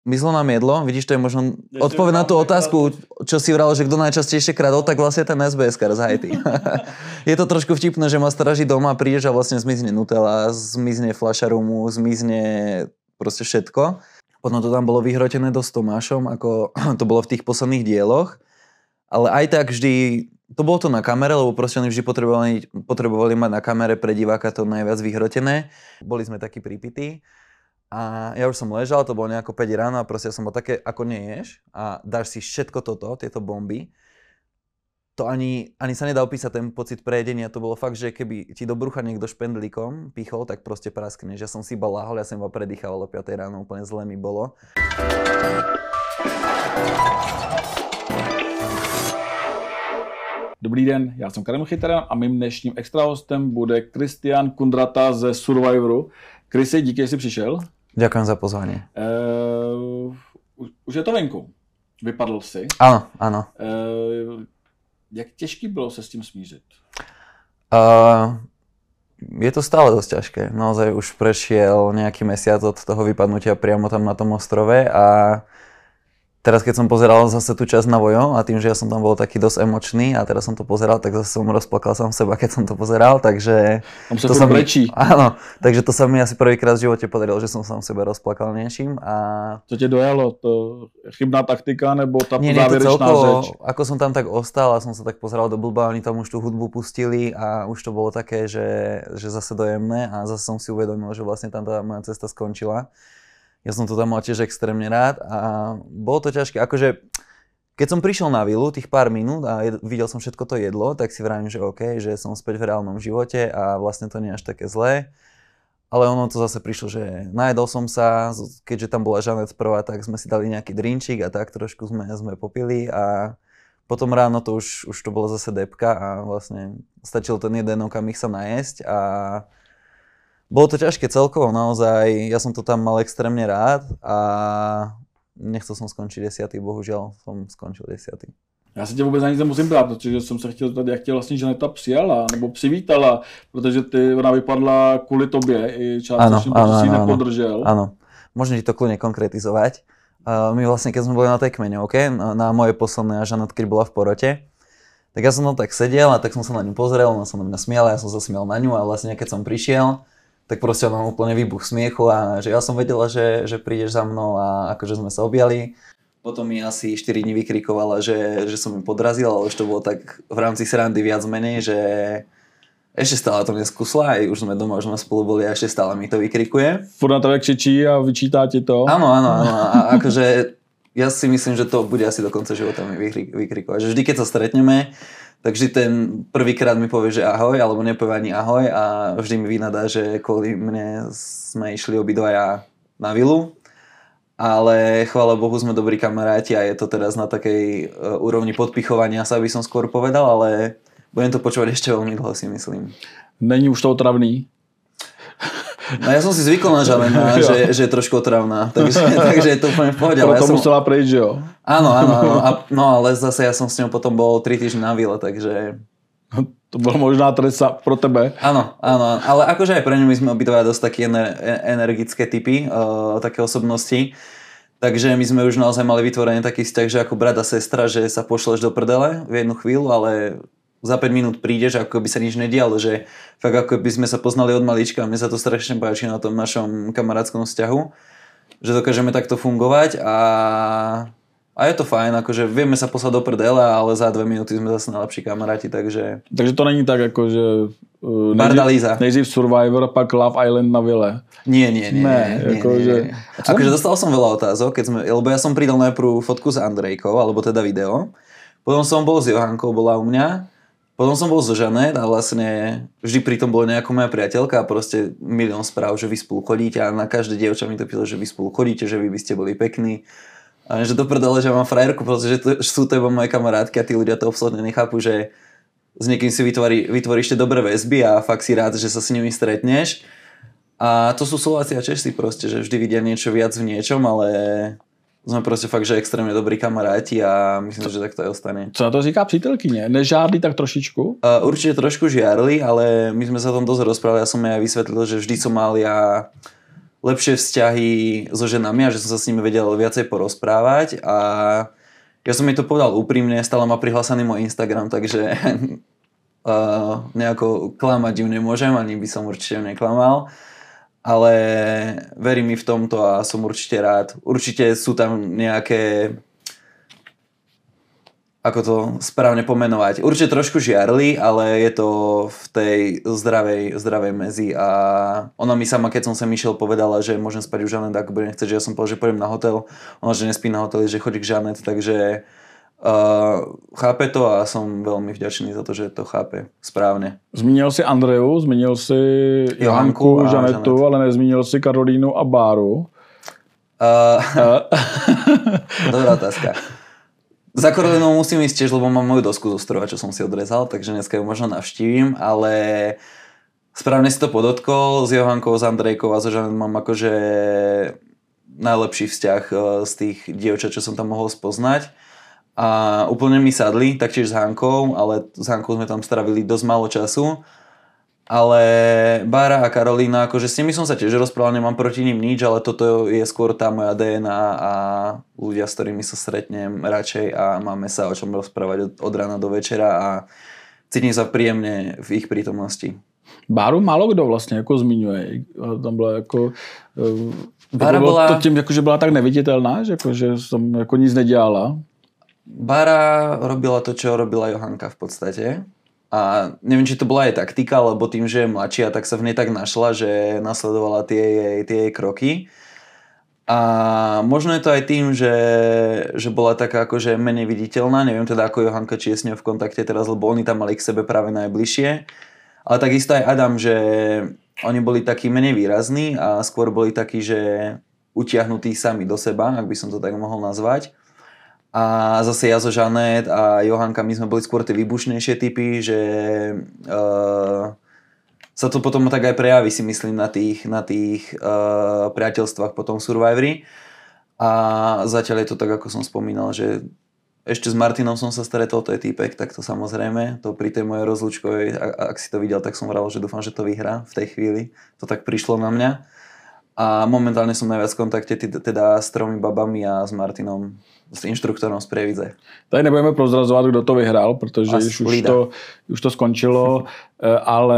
Myslo nám jedlo, vidíš, to je možno odpoveď na tú otázku, čo si vral, že kto najčastejšie kradol, tak vlastne ten SBS-kar z Haiti. Je to trošku vtipné, že ma stráži doma, prídeš a vlastne zmizne Nutella, zmizne fľaša rumu, zmizne proste všetko. Potom to tam bolo vyhrotené dosť Tomášom, ako to bolo v tých posledných dieloch. Ale aj tak vždy, to bolo to na kamere, lebo proste oni vždy potrebovali mať na kamere pre diváka to najviac vyhrotené. Boli sme takí pripití. A ja už som ležal, to bolo nejako 5 ráno a proste som bol také, ako neješ a dáš si všetko toto, tieto bomby. To ani sa nedá opísať ten pocit prejedenia, to bolo fakt, že keby ti do brucha niekto špendlíkom pichol, tak proste praskneš. Ja som si iba lahol, ja som iba predýchal o 5 ráno, úplne zle mi bolo. Dobrý den, já jsem Karel Chytara a mým dnešním extra hostem bude Kristián Kundrata ze Survivoru. Krisi, díky, že jsi přišel. Ďakujem za pozvanie. Už je to venku. Vypadl si. Áno. Jak těžký bylo se s tím smířit? Je to stále dosť ťažké. Naozaj už prešiel nejaký mesiac od toho vypadnutia priamo tam na tom ostrove a teraz keď som pozeral zase tú časť na Vojo a tým, že ja som tam bol taký dosť emočný a teraz som to pozeral, tak zase som rozplakal sám seba, keď som to pozeral, takže... Tam sa to brečí. Áno, takže to sa mi asi prvýkrát v živote podarilo, že som sám seba rozplakal niečím a... Co tě dojalo? To chybná taktika nebo tá záverečná celkovo, řeč? Ako som tam tak ostal a som sa tak pozeral do blba, oni tam už tú hudbu pustili a už to bolo také, že zase dojemné a zase som si uvedomil, že vlastne tam tá moja cesta skončila. Ja som to tam mal tiež extrémne rád a bolo to ťažké. Akože, keď som prišiel na vilu tých pár minút a videl som všetko to jedlo, tak si vravím, že OK, že som späť v reálnom živote a vlastne to nie je až také zlé. Ale ono to zase prišlo, že najedol som sa, keďže tam bola Žanet prvá, tak sme si dali nejaký drinčík a tak trošku sme popili a potom ráno to už to bolo zase depka a vlastne stačil ten jeden okamih sa najesť a bolo to ťažké celkovo, naozaj, ja som to tam mal extrémne rád a nechcel som skončiť 10. Bohužiaľ som skončil 10. Já se tě vůbec na nic nemusím ptát, protože jsem se chtěl zeptat, jak tě vlastně Žaneta přijala nebo přivítala, protože ona vypadla kvůli tobě i částečně, protože si ji nepodržel. Áno, môžem ti to kľudne konkretizovať. My vlastne, keď sme boli na tej kmeňovke, na mojej poslednej a Žanet, keď bola v porote, tak ja som tam tak sedel a tak som sa na ňu pozrel, ona sa na mňa smiala, ja som sa smial na ňu a vlastne keď som prišiel, tak proste ona úplne výbuch smiechu a že ja som vedela, že prídeš za mnou a akože sme sa objali. Potom mi asi 4 dní vykrikovala, že som ju podrazil, ale už to bolo tak v rámci srandy viac menej, že ešte stále to neskúsla, aj už sme doma, už sme spolu boli a ešte stále mi to vykrikuje. Furt na tebe křičí a vyčítá ti to? Áno. A akože ja si myslím, že to bude asi do konca života mi vykrikovať. Že vždy, keď sa stretneme, tak vždy ten prvýkrát mi povie, že ahoj, alebo nepovie ani ahoj a vždy mi vynadá, že kvôli mne sme išli obidvaja na vilu. Ale chvála Bohu sme dobrí kamaráti a je to teraz na takej úrovni podpichovania sa, by som skôr povedal, ale budem to počúvať ešte veľmi dlho, si myslím. Není už to otravný? No ja som si zvykol na Žanena, že je trošku otravná, takže je to úplne v pohode. Proto musela prejsť, že jo? Áno. No ale zase ja som s ňou potom bol 3 týždne na vile, takže... To bolo možná trest pro tebe. Áno, ale akože aj pre ňu my sme obidvaja dosť také energické typy, také osobnosti. Takže my sme už naozaj mali vytvorený taký vzťah, že ako brat a sestra, že sa pošleš do prdele v jednu chvíľu, ale za 5 minút prídeš, ako by sa nič nedialo, že fakt ako by sme sa poznali od malička. Mne sa to strašne páči na tom našom kamarátskom vzťahu, že dokážeme takto fungovať a je to fajn, akože vieme sa poslať do prdele, ale za 2 minúty sme zase najlepší kamaráti, takže... Takže to není tak, ako že... Nejdřív Survivor, pak Love Island na vile. Nie. Akože dostal som veľa otázok, lebo ja som pridal najprv fotku s Andrejkou, alebo teda video. Potom som bol s Johankou, bola u mňa. Potom som bol so Žanet a vlastne vždy pri tom bola nejaká moja priateľka a proste milión správ, že vy spolu chodíte a na každé dievča mi to písalo, že vy spolu chodíte, že vy by ste boli pekní. A že to prdele, že mám frajerku, pretože sú to iba moje kamarátky a tí ľudia to absolútne nechápu, že s niekým si vytvoríš tie dobré väzby a fakt si rád, že sa s nimi stretneš. A to sú Slováci a Česi proste, že vždy vidia niečo viac v niečom, ale... Sme proste fakt, že extrémne dobrí kamaráti a myslím, že tak to aj ostane. Co na to říká přítelkyně? Nežárli tak trošičku? Určite trošku žiarli, ale my sme sa o tom dosť rozprávali. Ja som jej aj vysvetlil, že vždy som mal ja lepšie vzťahy so ženami a že som sa s nimi vedel viacej porozprávať a ja som jej to povedal úprimne, stále má prihlásený môj Instagram, takže nejako klamať ju nemôžem, ani by som určite neklamal, ale verím mi v tomto a som určite rád. Určite sú tam nejaké, ako to správne pomenovať, určite trošku žiarli, ale je to v tej zdravej mezi a ona mi sama, keď som sem išiel, povedala, že môžem spať u Žanet, ako bude nechceť, že ja som povedal, že pôjdem na hotel, ona, že nespí na hoteli, že chodí k Žanet, takže chápe to a som veľmi vďačný za to, že to chápe správne. Zmínil si Andreju, zmínil si Johanku, Žanetu, ale nezmínil si Karolínu a Báru. Dobrá otázka. Za Karolínou musím ísť tiež, lebo mám moju dosku zo strova, čo som si odrezal, takže dneska ju možno navštívim, ale správne si to podotkol, s Johankou, s Andrejkou a so Žanet mám akože najlepší vzťah z tých dievčat, čo som tam mohol spoznať. A úplne mi sadli, taktiež s Hankou, ale s Hankou sme tam stravili dosť málo času. Ale Bára a Karolína, akože s nimi som sa tiež rozprával, nemám proti ním nič, ale toto je skôr tá moja DNA a ľudia, s ktorými sa stretnem radšej a máme sa o čom rozprávať od rána do večera a cítim sa príjemne v ich prítomnosti. Báru málo kdo vlastně jako zmiňuje. Tam byla jako... Bára byla... To tím, jako, že byla tak neviditelná, že, jako, že tam jako nic nedělala. Bára robila to, čo robila Johanka v podstate. A neviem, či to bola jej taktika, lebo tým, že je mladšia, tak sa v nej tak našla, že nasledovala tie jej kroky. A možno je to aj tým, že bola taká akože menej viditeľná. Neviem teda ako Johanka, či je s ňou v kontakte teraz, lebo oni tam mali k sebe práve najbližšie. Ale takisto aj Adam, že oni boli takí menej výrazní a skôr boli takí, že utiahnutí sami do seba, ak by som to tak mohol nazvať. A zase ja so Žanet a Johanka, my sme boli skôr tie výbušnejšie typy, že sa to potom tak aj prejaví, si myslím, na tých priateľstvách potom Survivory. A zatiaľ je to tak, ako som spomínal, že ešte s Martinom som sa stretol, to je týpek, tak to samozrejme, to pri tej mojej rozlúčkovej, ak si to videl, tak som vral, že dúfam, že to vyhrá v tej chvíli. To tak prišlo na mňa. A momentálne som najviac v kontakte teda s 3 babami a s Martinom, s inštruktorom z Prievidze. Tady nebudeme prozrazovat, kdo to vyhrál, protože už to skončilo, ale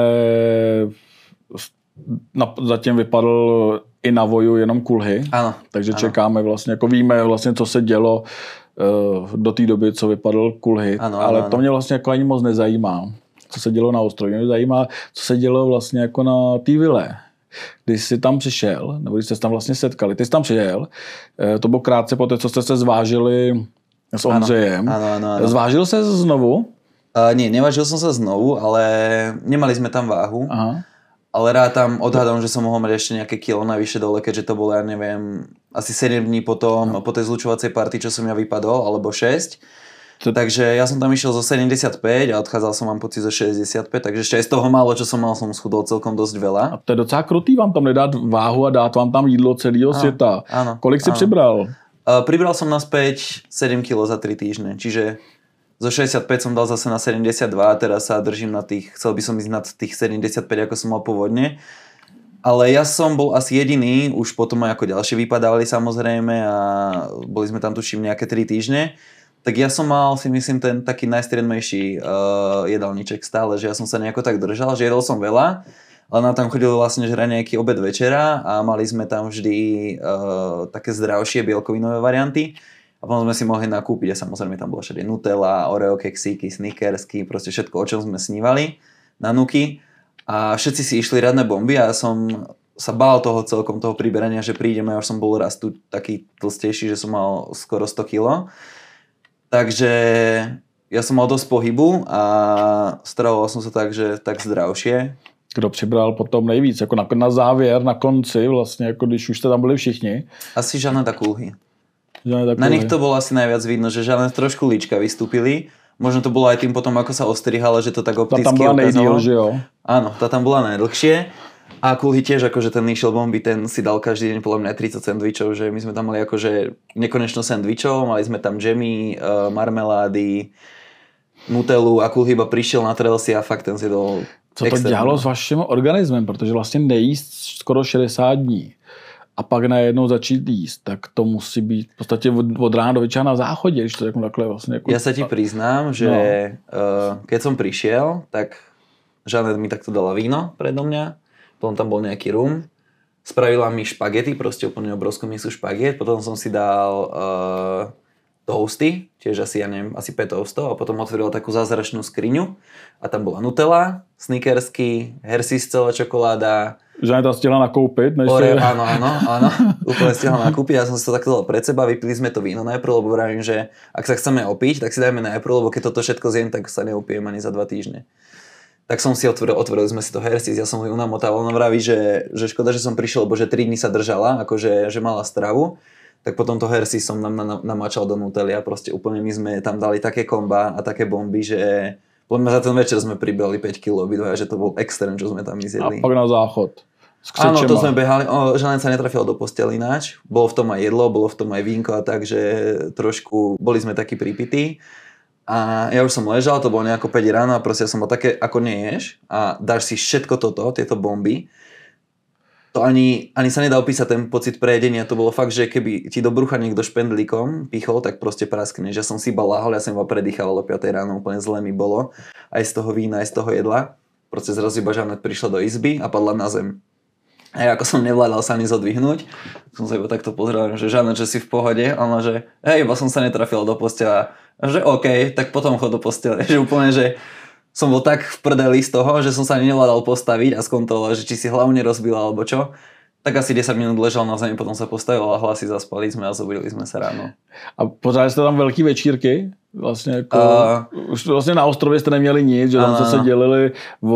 zatím vypadl i na voju jenom Kulhy. Ano, takže ano. Čekáme vlastně, jako víme vlastně, co se dělo do té doby, co vypadl Kulhy. Ale to mě vlastně jako ani moc nezajímá, co se dělo na ostrově. Mě zajímá, co se dělo vlastně jako na té vile. Když jsi tam přišel, nebo když jste se tam vlastně setkali, ty jsi tam přijel, to bylo krátce po té, co jste se zvážili s Ondřejem. Ano. Zvážil se znovu? Nie, nevážil som sa znovu, ale nemali sme tam váhu. Aha. Ale rád tam odhadom, že som mohol mať ešte nejaké kilo navyše dole, keďže to bolo, ja neviem, asi 7 dní potom, po tej zlučovacej party, čo som ja vypadol, alebo 6. Takže ja som tam išiel zo 75 a odchádzal som, mám pocit, zo 65, takže ešte aj z toho málo, čo som mal, som schudol celkom dosť veľa. A to je docela krutý vám tam nedát váhu a dát vám tam jídlo celého světa. Áno. Kolik si přibral? Pribral som naspäť 7 kg za 3 týždne, čiže zo 65 som dal zase na 72 a teraz sa držím na tých, chcel by som ísť nad tých 75, ako som mal pôvodne. Ale ja som bol asi jediný, už potom aj ako ďalšie vypadávali samozrejme a boli sme tam tuším nejaké 3 týždne. Tak ja som mal, si myslím, ten taký najstriedmejší jedálniček stále, že ja som sa nejako tak držal, že jedol som veľa, ale nám tam chodil vlastne žrať nejaký obed večera a mali sme tam vždy také zdravšie bielkovinové varianty a potom sme si mohli nakúpiť a samozrejme tam bola všade Nutella, Oreo keksíky, Snickersky, proste všetko, o čom sme snívali na nuky a všetci si išli radné bomby a ja som sa bál toho celkom, toho priberania, že prídeme, ja už som bol raz tu taký tlstejší, že som mal skoro 100 kg. Takže ja som mal dosť pohybu a stravoval som sa tak zdravšie. Kdo přibral potom nejvíc, jako na závěr, na konci, vlastně, jako když už jste tam byli všichni? Asi Žanet a Kulhy. Na nich to bolo asi najviac vidno, že Žanet trošku líčka vystúpili. Možno to bolo aj tým potom, ako sa ostrihala, že to tak opticky ukázalo. Ta tam byla nejdýl, že jo? Áno, tá tam bola najdlhšie. A Kulhy tiež, akože ten išiel bomby, ten si dal každý deň podľa mňa 30 sendvičov, že my sme tam mali akože nekonečno sendvičov, mali sme tam džemy, marmelády, Nutellu a Kulhy iba prišiel na trelsi a fakt ten si dal. Co to dělalo s vaším organismem, protože vlastně nejíst skoro 60 dní a pak najednou začít jíst, tak to musí být v podstatě od rána do večera na záchodě, když to řeknu takhle vlastně. Jako... Ja sa ti priznám, že keď som prišiel, tak Žanet mi takto dala víno predo mňa, potom tam bol nejaký rum, spravila mi špagety, proste úplne obrovskú misu špaget, potom som si dal toasty, tiež asi, ja neviem, asi 5 toastov a potom otvorila takú zázračnú skriňu a tam bola Nutella, Snickersky, Hershey's celá čokoláda. Žaneta stihla nakoupit? Áno, úplne stihla nakúpiť, ja som si to takto dal pred seba, vypili sme to víno najprv, lebo vravím, že ak sa chceme opiť, tak si dajme najprv, lebo keď toto všetko zjem, tak sa neupijem ani za 2 týždne. Tak som si otvorili sme si to Hershey's, ja som ju namotával, ona vraví, že škoda, že som prišiel, lebo že 3 dní sa držala, akože že mala stravu. Tak potom to Hershey som namáčal do Nutelly a proste úplne my sme tam dali také komba a také bomby, že podľa za ten večer sme pribrali 5 kg obidvaja, že to bol extrém, čo sme tam zjedli. A pak na záchod. Áno, to sme behali, Žanet sa netrafil do postele ináč, bolo v tom aj jedlo, bolo v tom aj vínko a tak, že trošku boli sme takí pripití. A ja už som ležal, to bolo nejako 5 ráno a proste ja som bol také, ako neješ a dáš si všetko toto, tieto bomby. To ani sa nedá opísať ten pocit prejedenia, to bolo fakt, že keby ti do brucha niekto špendlíkom pichol, tak proste praskneš. Ja som si iba láhol, ja som iba predýchal o 5 ráno, úplne zle mi bolo. Aj z toho vína, aj z toho jedla. Proste zrazu iba Žanet prišla do izby a padla na zem. A ja ako som nevládal sa ani zodvihnúť, som sa iba takto pozrel, že Žanet, že si v pohode, a ona, že hej, iba som sa netrafil do postela. A že OK, tak potom chod do postele. Že úplne, že som bol tak v prdeli z toho, že som sa ani nevládal postaviť a skontrolovať, že či si hlavu nerozbila alebo čo. Tak asi 10 minút ležal na zemi, potom sa postavil a hlasy zaspali sme a zobudili sme sa ráno. A pořád jste tam velký večírky? Vlastně jako, už vlastně na ostrově jste neměli nic, že tam se dělili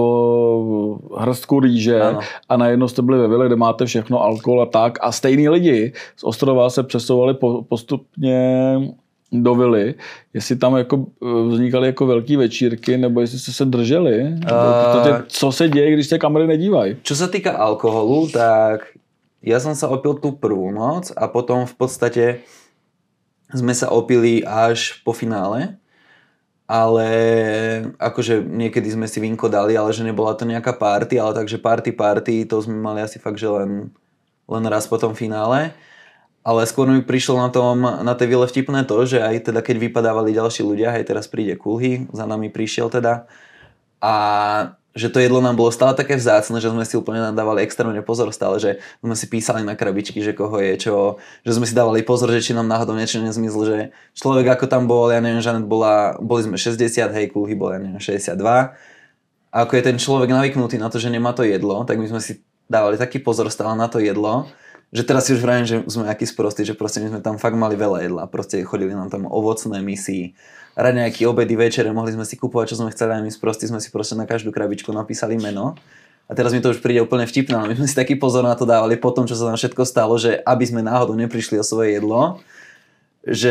o hrstku rýže a najednou jste byli ve vile, kde máte všechno, alkohol a tak. A stejný lidi z ostrova se přesouvali postupně do vily, jestli tam jako vznikaly jako velký večírky, nebo jestli jste se drželi. Co se děje, když se kamery nedívají? Čo sa týka alkoholu, tak ja som sa opil tú prvú noc a potom v podstate sme sa opili až po finále, ale akože niekedy sme si vínko dali, ale že nebola to nejaká party, ale takže party, to sme mali asi fakt, že len raz po tom finále. Ale skôr mi prišlo na tej vile vtipné to, že aj teda keď vypadávali ďalší ľudia, aj teraz príde Kulhy, za nami prišiel teda, a že to jedlo nám bolo stále také vzácne, že sme si úplne nadávali extrémne pozor stále, že sme si písali na krabičky, že koho je čo, že sme si dávali pozor, že či nám náhodou niečo nezmizlo, že človek ako tam bol, ja neviem, Žanet boli sme 60, hej, Kulhy bol, ja neviem, 62. A ako je ten človek navyknutý na to, že nemá to jedlo, tak my sme si dávali taký pozor stále na to jedlo, že teraz si už vravím, že sme aký sprostí, že proste my sme tam fakt mali veľa jedla, proste chodili nám tam ovocné misy, raňajky, obedy, večere, mohli sme si kupovať, čo sme chceli, a my sprostí sme si proste na každú krabičku napísali meno. A teraz mi to už príde úplne vtipné, ale my sme si taký pozor na to dávali po tom, čo sa nám všetko stalo, že aby sme náhodou neprišli o svoje jedlo, že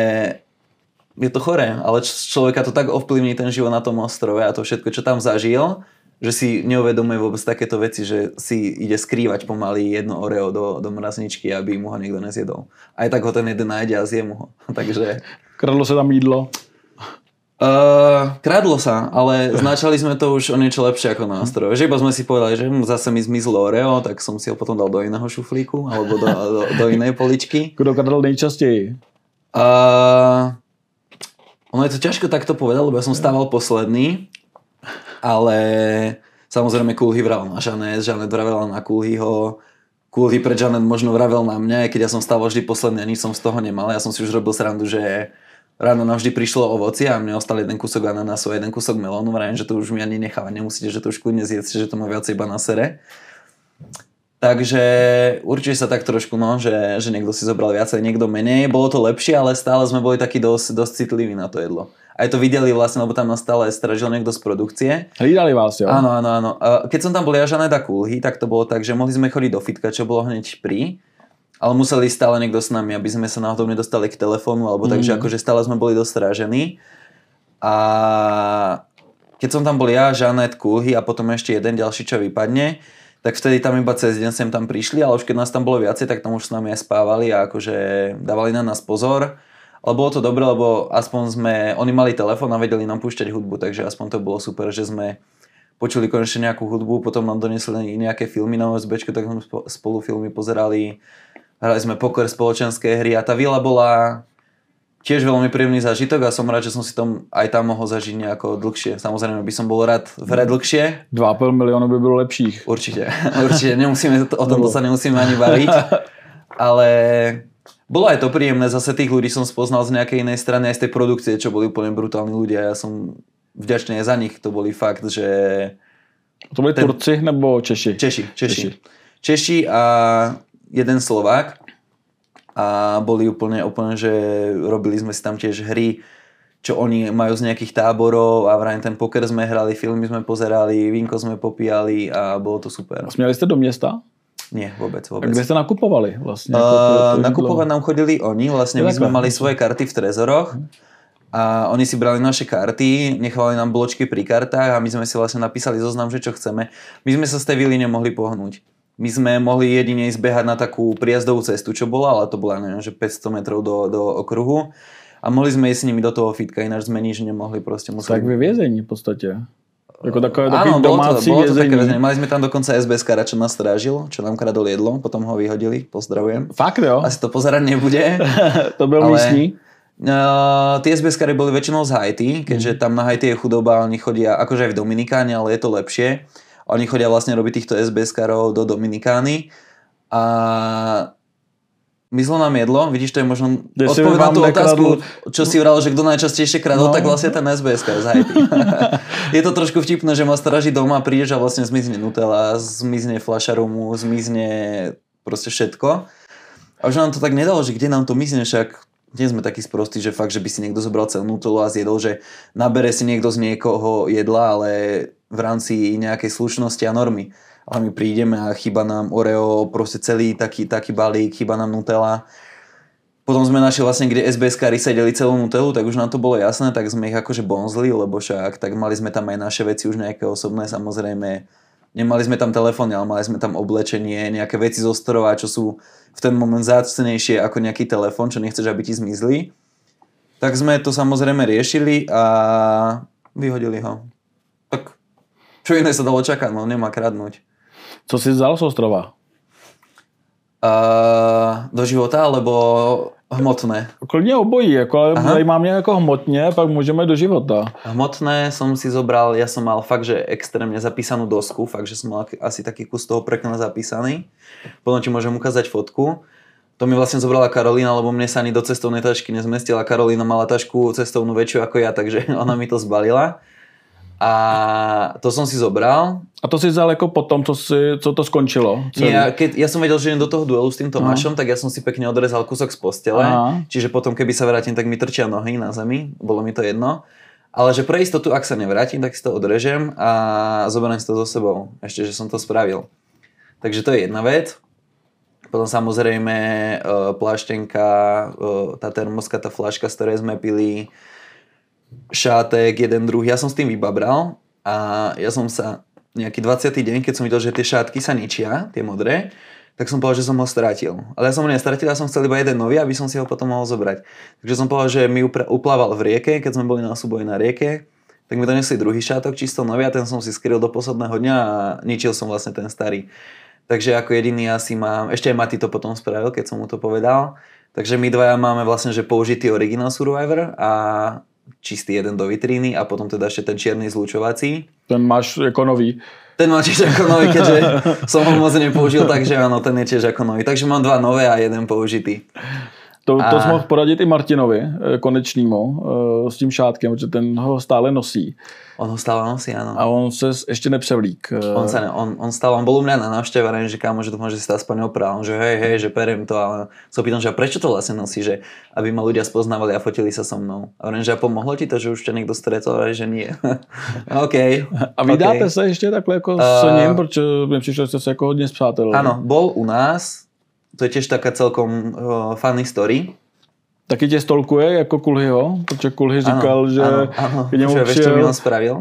je to choré, ale človeka to tak ovplyvní ten život na tom ostrove a to všetko, čo tam zažil, že si neuvedomuje vôbec takéto veci, že si ide skrývať pomaly jedno Oreo do mrazničky, aby mu ho niekto nezjedol. Aj tak ho ten jeden nájde a zje mu ho. Takže... Kradlo sa tam jídlo? Kradlo sa, ale značali sme to už o niečo lepšie ako na ostrove. Že iba sme si povedali, že zase mi zmizlo Oreo, tak som si ho potom dal do iného šuflíku alebo do inej poličky. Kto kradol nejčastěji? Ono je to ťažko takto povedať, lebo ja som stával posledný. Ale samozrejme Kulhy vravel na Žanet vravel na Kulhyho, Kulhy pred Žanet možno vravel na mňa, keď ja som stával vždy posledný a nič som z toho nemal. Ja som si už robil srandu, že ráno navždy prišlo ovocie a mne ostal jeden kúsok ananásu a jeden kúsok melónu. Vravím, že to už mi ani nechávať nemusíte, že to už kľudne zjedzte, že to má viacej iba na sere. Takže určite sa tak trošku, že niekto si zobral viacej, niekto menej. Bolo to lepšie, ale stále sme boli takí dosť citliví na to jedlo. Aj to videli vlastne, lebo tam nás stále stražil niekto z produkcie. Hlídali vás, jo? Áno. Keď som tam bol ja, Žanet a Kulhy, tak to bolo tak, že mohli sme chodiť do fitka, čo bolo hneď pri, ale museli stále niekto s nami, aby sme sa náhodou nedostali k telefónu, alebo takže akože stále sme boli dostrážení. A keď som tam bol ja, Žanet, Kulhy a potom ešte jeden ďalší, čo vypadne, tak vtedy tam iba cez deň sem tam prišli, ale už keď nás tam bolo viacej, tak tam už s nami aj spávali a akože dávali na nás pozor. Ale bolo to dobré, lebo aspoň oni mali telefón a vedeli nám púšťať hudbu, takže aspoň to bolo super, že sme počuli konečne nejakú hudbu, potom nám donesli nejaké filmy na OSBčke, tak sme spolu filmy pozerali. Hrali sme poker, spoločenské hry a tá vila bola tiež veľmi príjemný zážitok a som rád, že som si aj tam mohol zažiť nejako dlhšie. Samozrejme by som bol rád v hre dlhšie. 2,5 milióna by bylo lepších. Určite. O tomto sa nemusíme ani baviť. Ale bolo aj to príjemné, zase tých ľudí som spoznal z nejakej inej strany, aj z tej produkcie, čo boli úplne brutálni ľudia. Ja som vďačný aj za nich, to boli fakt, že... To boli Turci nebo Češi? Češi a jeden Slovák a boli úplne, že robili sme si tam tiež hry, čo oni majú z nejakých táborov a vrajím ten poker sme hrali, filmy sme pozerali, vínko sme popíjali a bolo to super. A smiali ste do města? Nie, vôbec. A kde ste nakupovali vlastne? Nakupovať nám chodili oni, vlastne my sme mali svoje karty v trezoroch. A oni si brali naše karty, nechávali nám bločky pri kartách a my sme si vlastne napísali zoznam, že čo chceme. My sme sa z tej vily nemohli pohnúť. My sme mohli jedine zbehať na takú prijazdovú cestu, čo bola, ale to bola, neviem, že 500 metrov do okruhu. A mohli sme ísť s nimi do toho fitka, ináč sme nič nemohli. Tak ve vězení v podstate. Jako takové domácí vězení. Mali sme tam dokonca SBS-kara, čo nás strážil, čo nám kradol jedlo, potom ho vyhodili, pozdravujem. Fakt jo? Asi to pozerať nebude. To byl místní? Tie SBS-kary boli väčšinou z Haiti, keďže tam na Haiti je chudoba, oni chodia, akože aj v Dominikáne, ale je to lepšie. Oni chodia vlastne robiť týchto SBS-karov do Dominikány a myslo nám jedlo, vidíš, to je možno odpoveď na tú otázku, čo si vral, že kto najčastejšie kradol, tak vlastne ten SBS-kar z Haiti. Je to trošku vtipné, že ma stráži doma, prídeš a vlastne zmizne Nutella, zmizne fľaša rumu, zmizne proste všetko. A už nám to tak nedalo, že kde nám to mizne, však nie sme takí sprostí, že fakt, že by si niekto zobral celú Nutellu a zjedol, že nabere si niekto z niekoho jedla, ale v rámci nejakej slušnosti a normy. Ale my prídeme a chýba nám Oreo, proste celý taký balík, chýba nám Nutella. Potom sme našli vlastne, kde SBS-kari sedeli celú Nutellu, tak už nám to bolo jasné, tak sme ich akože bonzli, lebo však tak mali sme tam aj naše veci už nejaké osobné, samozrejme. Nemali sme tam telefóny, ale mali sme tam oblečenie, nejaké veci zo strova, čo sú v ten moment zácnejšie ako nejaký telefón, čo nechceš, aby ti zmizli. Tak sme to samozrejme riešili a vyhodili ho. Tak čo iné sa dalo čakať, no nemá kradnúť. Co si vzal z ostrova? Do života, alebo hmotné? Klidně obojí, jako, ale zajímá mě jako hmotně, pak můžeme do života. Hmotné som si zobral, ja som mal fakt, že extrémne zapísanú dosku, fakt, že som mal asi taký kus toho prekna zapísaný. Potom ti môžem ukázať fotku. To mi vlastne zobrala Karolína, lebo mne sa ani do cestovnej tašky nezmestila. Karolína mala tašku cestovnú väčšiu ako ja, takže ona mi to zbalila. A to som si zobral. A to si vzal ako potom, co to skončilo? Nie, ja som vedel, že idem do toho duelu s tým Tomášom, tak ja som si pekne odrezal kúsok z postele. Čiže potom, keby sa vrátim, tak mi trčia nohy na zemi. Bolo mi to jedno. Ale že pre istotu, ak sa nevrátim, tak si to odrežem a zoberiem si to so sebou. Ešte, že som to spravil. Takže to je jedna vec. Potom samozrejme pláštenka, tá termoska, tá fľaška, z ktorej sme pili, šátek, jeden druhý. Ja som s tým vybabral a ja som sa nejaký 20. deň, keď som videl, že tie šátky sa ničia, tie modré, tak som povedal, že som ho stratil. Ale ja som ho nestratil, ja som chcel iba jeden nový, aby som si ho potom mohol zobrať. Takže som povedal, že mi uplával v rieke, keď sme boli na súboji na rieke, tak mi donesli druhý šátok čisto nový a ten som si skryl do posledného dňa a ničil som vlastne ten starý. Takže ako jediný asi mám, ešte aj Mati to potom spravil, keď som mu to povedal. Takže my dvaja máme vlastne, že použitý Original Survivor a čistý jeden do vitríny a potom teda ešte ten čierny zlučovací. Ten máš ako nový. Ten máš tiež ako nový, keďže som ho moc nepoužil, takže áno, ten je tiež ako nový. Takže mám dva nové a jeden použitý. To jsi mohl poradit i Martinovi Konečnému s tím šátkem, protože ten ho stále nosí. On ho stále nosí, áno. A on se ještě nepřevlík. On bol u mňa na návšteve a že kámo, že dúfam, že si to aspoň oprál. Že hej, že periem to. A sa pýtam, že prečo to vlastne nosí, že aby ma ľudia spoznávali a fotili sa so mnou. A že a pomohlo ti to, že už ťa niekto stretol, a že nie. OK. A vydáte sa ešte takhle jako s ním, protože mi přišlo, že ste sa jako hodně spřátelili. Áno, bol u nás. To je tiež taká celkom funny story. Taky tě stolkuje jako Kulhyho? Protože Kulhy říkal, že k němu přijel... Vieš, čo by on spravil?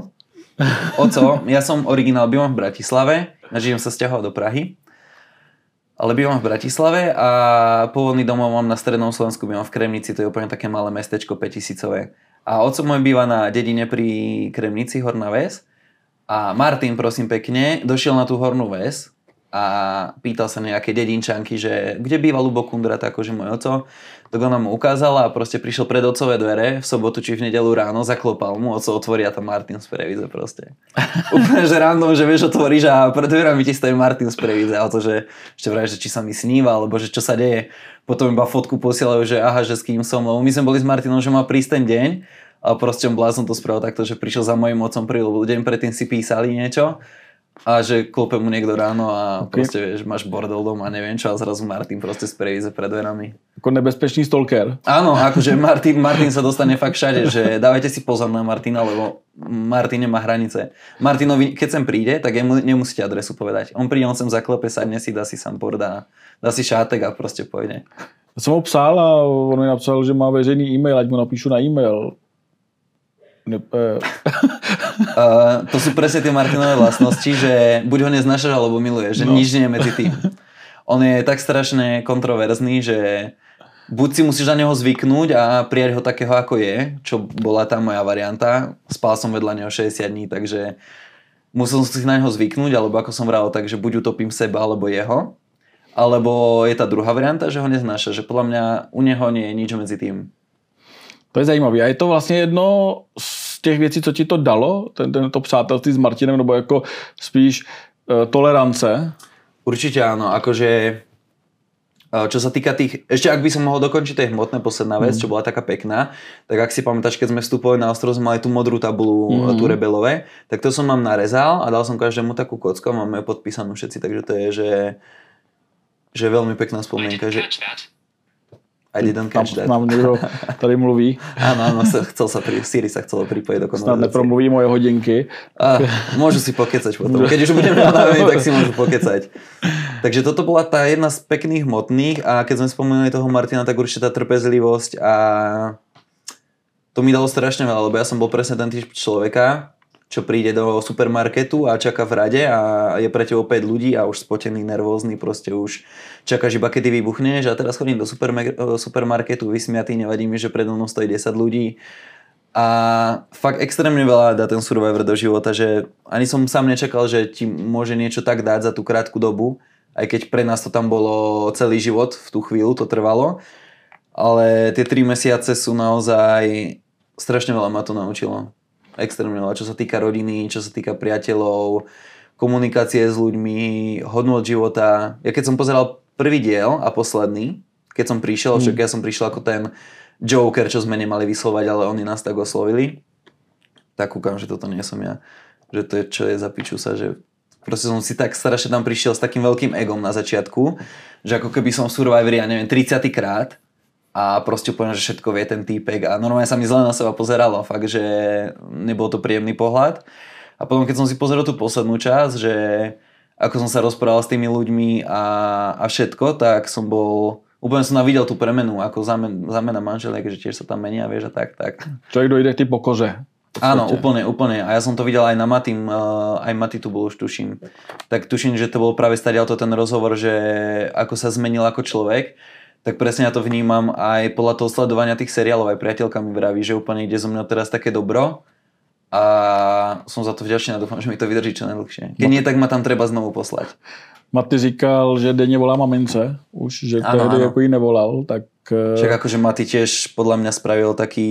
Ja som originál, bývam v Bratislave, žijem sa sťahovať do Prahy, ale bývam v Bratislave a pôvodný domov mám na strednom Slovensku, bývam v Kremnici, to je úplne také malé mestečko 5000. A otco môj býva na dedine pri Kremnici, Horná Ves. A Martin, prosím pekne, došiel na tú hornú väz a pýtal sa nejaké dedinčanky, že kde býva Ľubo Kundrat, akože môj oco. Tak ona mu ukázala a proste prišiel pred otcové dvere v sobotu či v nedeľu ráno, zaklopal mu, oco otvorí a tam Martin z Previdze proste. Úplne, že random, že vieš, otvoríš a pred dverami ti stojí Martin z Previdze a to, že ešte vraj, že či sa mi sníva, alebo že čo sa deje. Potom iba fotku posielajú, že aha, že s kým som, lebo my sme boli s Martinom, že má prísť ten deň a proste on blázon to spravil takto, že prišiel za mojím otcom pri, lebo deň predtým si písali niečo. A že klope mu niekto ráno a proste vieš, máš bordel doma, neviem čo, a zrazu Martin proste z Previdze pred dverami. Ako nebezpečný stalker. Áno, akože Martin sa dostane fakt všade, že dávajte si pozor na Martina, lebo Martin nemá hranice. Martinovi, keď sem príde, tak nemusíte adresu povedať. On príde, on sem zaklepe, sadne si, dá si sampor, dá si šátek a proste pôjde. Ja som ho psal a on mi napsal, že má veřejný e-mail, ať mu napíšu na e-mail. To sú presne tie Martinové vlastnosti, že buď ho neznášaš, alebo miluješ, že nič nie je medzi tým. On je tak strašne kontroverzný, že buď si musíš na neho zvyknúť a prijať ho takého, ako je, čo bola tá moja varianta. Spal som vedľa neho 60 dní, takže musel som si na neho zvyknúť, alebo ako som vral, takže buď utopím seba, alebo jeho. Alebo je tá druhá varianta, že ho neznáša, že podľa mňa u neho nie je nič medzi tým. To je zajímavé. A je to vlastně jedno z těch věcí, co ti to dalo, to přátelství s Martinem, nebo jako spíš tolerance? Určite áno, akože čo sa týka tých, ešte ak by som mohol dokončiť tej hmotné posledná vec, čo bola taká pekná, tak ak si pamätáš, keď sme vstupovali na ostrov, sme mali tú modrú tabulu, tú rebelové, tak to som mám narezal a dal som každému takú kocku a máme ju podpísanú všetci, takže to je, že veľmi pekná spomienka, že I didn't catch that. Mám někdo tady mluví. Áno, Siri sa chcelo pripojiť do konverzácie. Snad nepromluví moje hodinky. Môžu si pokecať potom. Keď už budeme navení, tak si môžu pokecať. Takže toto bola tá jedna z pekných hmotných a keď sme spomínali toho Martina, tak určite tá trpezlivosť a to mi dalo strašne veľa, lebo ja som bol presne ten typ človeka, čo príde do supermarketu a čaká v rade a je pre tebou 5 ľudí a už spotený, nervózny, proste už čakáš iba kedy vybuchneš a teraz chodím do supermarketu vysmiatý, nevadí mi, že predo mnou stojí 10 ľudí a fakt extrémne veľa dá ten Survivor do života, že ani som sám nečakal, že ti môže niečo tak dať za tú krátku dobu, aj keď pre nás to tam bolo celý život, v tú chvíľu to trvalo, ale tie 3 mesiace sú naozaj, strašne veľa ma to naučilo. Extrémne veľa, čo sa týka rodiny, čo sa týka priateľov, komunikácie s ľuďmi, hodnôt života. Ja keď som pozeral prvý diel a posledný, keď som prišiel, však ja som prišiel ako ten Joker, čo sme nemali vyslovať, ale oni nás tak oslovili, tak kúkam, že toto nie som ja. Že to je, čo je za pičusa, že proste som si tak strašne tam prišiel s takým veľkým egom na začiatku, že ako keby som v Survivori, ja neviem, 30. krát a proste úplne, že všetko vie ten týpek a normálne sa mi zle na seba pozeralo, fakt, že nebol to príjemný pohľad. A potom, keď som si pozeral tú poslednú časť, že ako som sa rozprával s tými ľuďmi a všetko, tak som bol, úplne som videl tú premenu, ako zamena manželiek, že tiež sa tam menia, vieš, a tak. Človek dojde k tej pokoře. Áno, úplne. A ja som to videl aj na Matým, aj Maty tu bol už tuším. Tak tuším, že to bol práve stadiaľto ten rozhovor, že ako sa zmenil ako človek. Tak presne ja to vnímam aj podľa toho sledovania tých seriálov, aj priateľka mi vraví, že úplne ide zo mňa teraz také dobro a som za to vďačný a dúfam, že mi to vydrží čo najdlhšie. Keď nie, tak ma tam treba znovu poslať. Maty říkal, že denně volá mamince, už, že tehdy jako jí nevolal, tak... Však akože Maty tiež podľa mňa spravil taký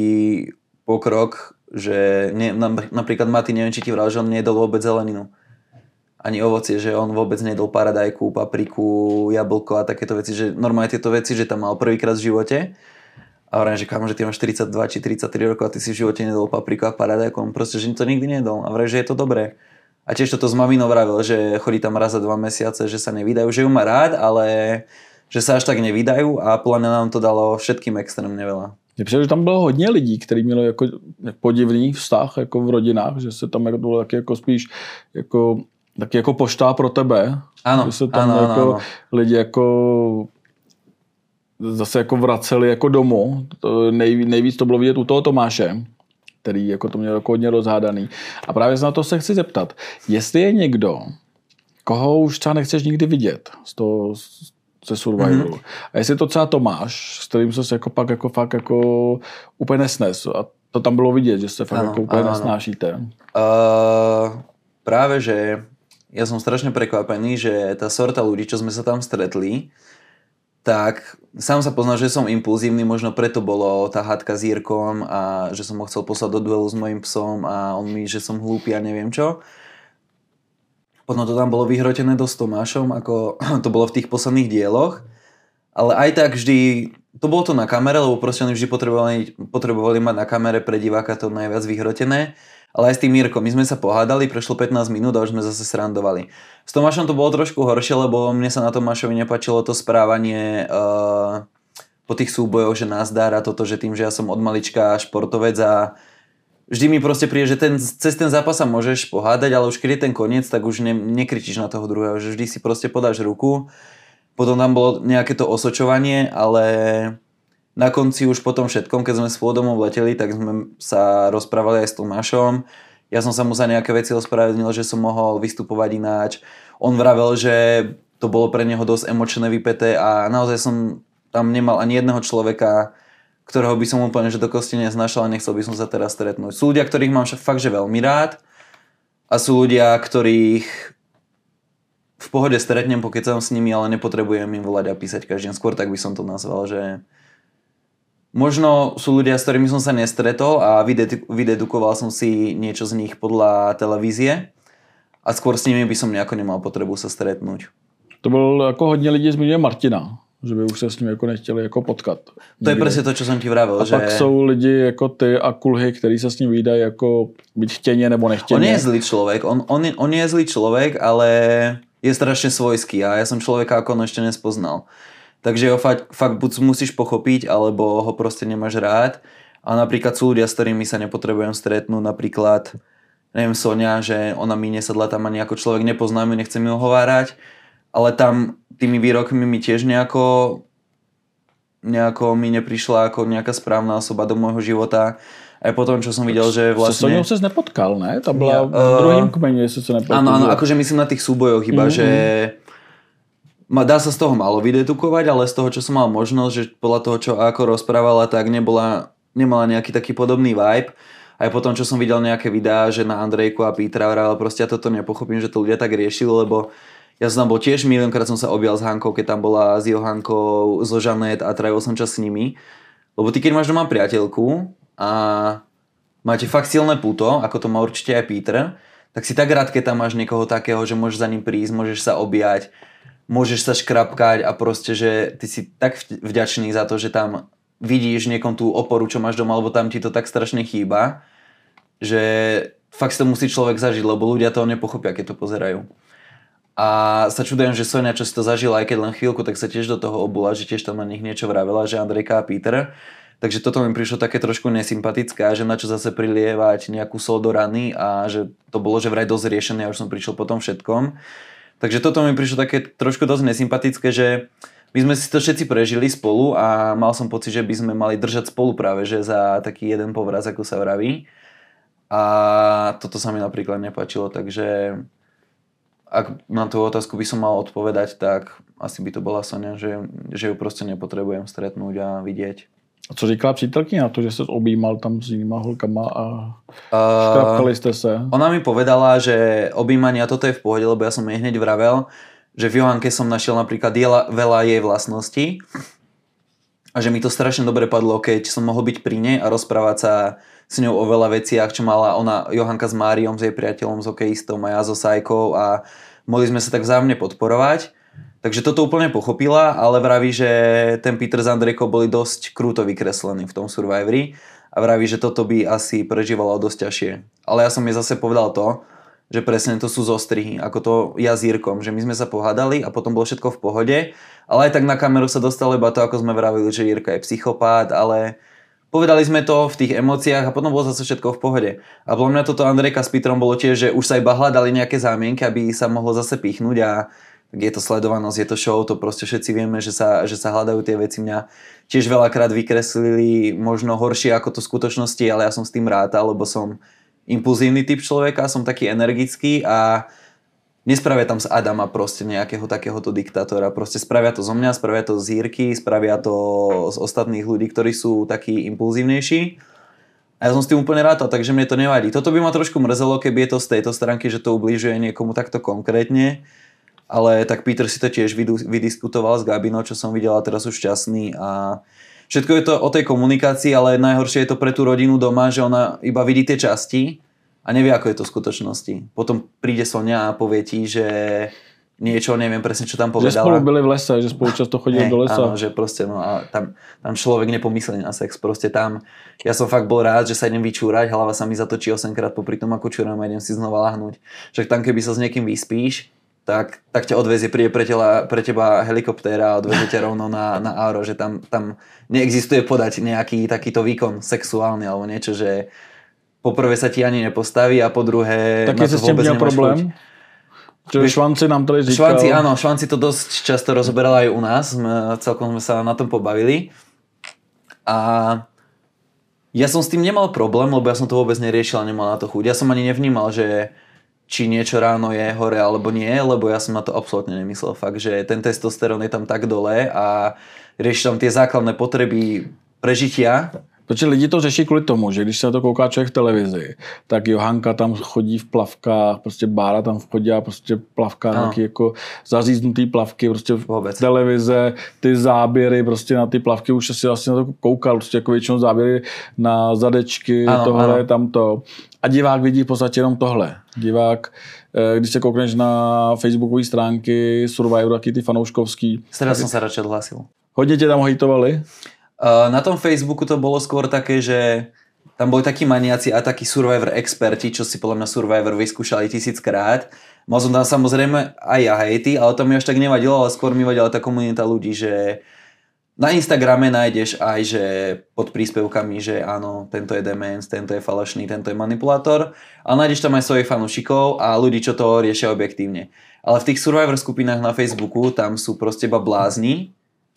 pokrok, že napríklad Maty, neviem, či ti vral, že on nejedol vôbec zeleninu. Ani ovocie, že on vôbec nejedol paradajku, papriku, jablko a takéto veci, že normálne tieto veci, že tam mal prvýkrát v živote. A hovorím, že kámo, že ty máš 42 či 33 rokov a ty si v živote nejedol papriku a paradajku, on proste, že to nikdy nejedol. A hovorím, že je to dobré. A tiež toto s maminou vravil, že chodí tam raz za 2 mesiace, že sa nevydajú, že ju má rád, ale že sa až tak nevydajú a podľa mňa nám to dalo všetkým extrémne veľa. Je přijde, že tam bylo hodně lidí, kteří měli jako podivný vztah jako v rodinách, že se tam jako bylo taky jako spíš taky jako pošta pro tebe. Ano, že se tam ano. Lidi jako zase jako vraceli jako domů. Nejvíc to bylo vidět u toho Tomáše, který jako to měl jako hodně rozhádaný. A právě na to se chci zeptat. Jestli je někdo, koho už třeba nechceš nikdy vidět ze Survivoru. A jestli to třeba Tomáš, s kterým se jako pak jako fakt jako úplně nesnes. A to tam bylo vidět, že se fakt jako úplně nesnášíte. práve, že ja som strašne prekvapený, že tá sorta ľudí, čo sme sa tam stretli, tak sám sa poznal, že som impulzívny, možno preto bolo tá hádka s Jirkom a že som ho chcel poslať do duelu s mojím psom a on mi, že som hlúpy a neviem čo. Potom to tam bolo vyhrotené dosť Tomášom, ako to bolo v tých posledných dieloch. Ale aj tak vždy, to bolo to na kamere, lebo proste oni vždy potrebovali mať na kamere pre diváka to najviac vyhrotené. Ale aj s tým Mirkom, my sme sa pohádali, prešlo 15 minút a už sme zase srandovali. S Tomášom to bolo trošku horšie, lebo mne sa na Tomášovi nepáčilo to správanie po tých súbojoch, že nazdar a toto, že tým, že ja som od malička športovec a vždy mi proste príde, že cez ten zápas sa môžeš pohádať, ale už keď je ten koniec, tak už nekričíš na toho druhého, že vždy si proste podáš ruku. Potom tam bolo nejaké to osočovanie, ale na konci už po tom všetkom, keď sme spolu domov leteli, tak sme sa rozprávali aj s Tomášom. Ja som sa mu za nejaké veci ospravedlnil, že som mohol vystupovať ináč. On vravel, že to bolo pre neho dosť emočné vypäté a naozaj som tam nemal ani jedného človeka, ktorého by som úplne že do kosti neznášal a nechcel by som sa teraz stretnúť. Sú ľudia, ktorých mám fakt že veľmi rád a sú ľudia, ktorých v pohode stretnem, pokecam s nimi, ale nepotrebujem im volať a písať každý deň. Skôr tak by som to nazval, že možno sú ľudia, s ktorými som sa nestretol a vydedukoval som si niečo z nich podľa televízie a skôr s nimi by som nejako nemal potrebu sa stretnúť. To byl jako hodně lidí zmiňuje Martina, že by už se s ním jako nechtěli jako potkat. To je presne to, čo som ti vravel. A že pak jsou lidi jako ty a kulhy, který se s ním vídají jako byť chtěně nebo nechtěně. On je zlý človek, on je zlý človek, ale je strašne svojský a ja som človeka ako on ešte nespoznal. Takže ho fakt buď musíš pochopiť, alebo ho proste nemáš rád. A napríklad sú ľudia, s ktorými sa nepotrebujem stretnúť. Napríklad, neviem, Sonia, že ona mi nesadla tam ani ako človek, nepoznám ju, nechcem ju ohovárať. Ale tam tými výrokmi mi tiež nejako mi neprišla ako nejaká správna osoba do môjho života. Aj potom, čo som videl, že vlastne... S Soniou ses nepotkal, ne? To byla v druhém kmeni, jestli sa nepotkal. Áno, akože myslím na tých súbojoch iba, že dá sa z toho malo vydedukovať, ale z toho, čo som mal možnosť, že podľa toho, čo ako rozprávala, tak nemala nejaký taký podobný vibe. Aj potom, čo som videl nejaké videá, že na Andrejku a Petra vravel, proste ja toto nepochopím, že to ľudia tak riešili, lebo ja som tam bol tiež miliónkrát som sa objal s Hankou, keď tam bola s Johankou, so Žanet a trávil som čas s nimi. Lebo ty, keď máš doma priateľku a máte fakt silné puto, ako to má určite aj Peter, tak si tak rád, keď tam máš niekoho takého, že môžeš za ním prísť, môžeš sa objať, môžeš sa škrapkať a proste, že ty si tak vďačný za to, že tam vidíš niekom tú oporu, čo máš doma, lebo tam ti to tak strašne chýba, že fakt si to musí človek zažiť, lebo ľudia to nepochopia, keď to pozerajú. A sa čudujem, že Sonia, čo si to zažila, aj keď len chvíľku, tak sa tiež do toho obula, že tiež tam na nich niečo vravela, že Andrejka a Peter. Takže toto mi prišlo také trošku nesympatické, že na čo zase prilievať nejakú sol do rany a že to bolo, že vraj dosť riešené a už som prišiel po tom všetkom. Takže toto mi prišlo také trošku dosť nesympatické, že my sme si to všetci prežili spolu a mal som pocit, že by sme mali držať spolu práve, že za taký jeden povraz, ako sa vraví. A toto sa mi napríklad nepáčilo, takže ak na tú otázku by som mal odpovedať, tak asi by to bola Sonia, že ju proste nepotrebujem stretnúť a vidieť. A co říkala přítelkyně na to, že se objímal tam s jinýma holkama a škrapkali ste sa? Ona mi povedala, že objímania toto je v pohode, lebo ja som jej hneď vravel, že v Johanke som našiel napríklad veľa jej vlastností a že mi to strašne dobre padlo, keď som mohol byť pri nej a rozprávať sa s ňou o veľa veciach, čo mala ona, Johanka s Máriom, s jej priateľom, s hokejistom a ja so Sajkou a mohli sme sa tak vzájomne podporovať. Takže toto úplne pochopila, ale vraví, že ten Peter s Andrejkou boli dosť krúto vykreslení v tom Survivori a vraví, že toto by asi prežívalo dosť ťažšie. Ale ja som jej zase povedal to, že presne to sú zostrihy, ako to ja s Jirkom, že my sme sa pohádali a potom bolo všetko v pohode, ale aj tak na kameru sa dostalo iba to, ako sme vravili, že Jirka je psychopát, ale povedali sme to v tých emóciách a potom bolo zase všetko v pohode. A podľa mňa toto Andrejka s Petrom bolo tiež, že už sa iba hľadali nejaké zámienky, aby sa mohlo zase pichnúť a je to sledovanosť, je to show, to proste všetci vieme, že sa hľadajú tie veci. Mňa tiež veľakrát vykreslili možno horšie ako to v skutočnosti, ale ja som s tým rátal, lebo som impulzívny typ človeka, som taký energický a nespravia tam z Adama proste nejakého takéhoto diktátora. Proste spravia to zo mňa, spravia to z Jirky, spravia to z ostatných ľudí, ktorí sú takí impulzívnejší. A A ja som s tým úplne rátal, takže mne to nevadí. Toto by ma trošku mrzelo, keby je to z tejto stránky, že to ubližuje niekomu takto konkrétne. Ale tak Peter si to tiež vydiskutoval s Gabinou, čo som videl, a teraz už šťastný. A všetko je to o tej komunikácii, ale najhoršie je to pre tú rodinu doma, že ona iba vidí tie časti a nevie, ako je to v skutočnosti. Potom príde Sonia a povie ti, že niečo, neviem presne, čo tam povedala. Že spolu byli v lese, že spolu často chodili do lesa. Áno, že proste, no a tam človek nepomyslí na sex. Proste tam, ja som fakt bol rád, že sa idem vyčúrať, hlava sa mi zatočí 8-krát popri tom, ako čúram a idem si znova lahnúť. Však tam, keby sa s niekým vyspíš, tak ťa odvezie, príde pre teba helikoptéra a odvezie ťa rovno na aero, že tam neexistuje podať nejaký takýto výkon sexuálny alebo niečo, že po prvé sa ti ani nepostaví a po druhé tak na to vôbec nemáš problém. Čiže Švanci nám tady říkal... Švanci to dosť často rozoberala aj u nás, celkom sme sa na tom pobavili. A ja som s tým nemal problém, lebo ja som to vôbec neriešil a nemal na to chuť. Ja som ani nevnímal, že či niečo ráno je hore alebo nie, lebo ja som na to absolútne nemyslel. Fakt, že ten testosterón je tam tak dole a rieši tam tie základné potreby prežitia. Protože lidi to řeší kvůli tomu, že když se na to kouká člověk v televizi, tak Johanka tam chodí v plavkách, prostě Bára tam chodí a prostě plavka, nějaký jako zaříznutý plavky, prostě v televize, ty záběry prostě na ty plavky, už si vlastně na to koukal, prostě jako většinou záběry na zadečky, tohle, tamto. A divák vidí v podstatě jenom tohle. Divák, když se koukneš na facebookové stránky Survivor, taky ty fanouškovský. Teraz som sa radšej odhlásil. Hodně tě tam hejtovali? Na tom Facebooku to bolo skôr také, že tam boli takí maniaci a takí Survivor experti, čo si podľa mňa Survivor vyskúšali 1000-krát. Mal som tam samozrejme aj ja hejty, ale to mi až tak nevadilo, ale skôr mi vadila tá komunita ľudí, že na Instagrame nájdeš aj, že pod príspevkami, že áno, tento je demens, tento je falošný, tento je manipulátor, ale nájdeš tam aj svojich fanúšikov a ľudí, čo to riešia objektívne. Ale v tých Survivor skupinách na Facebooku tam sú proste iba blázni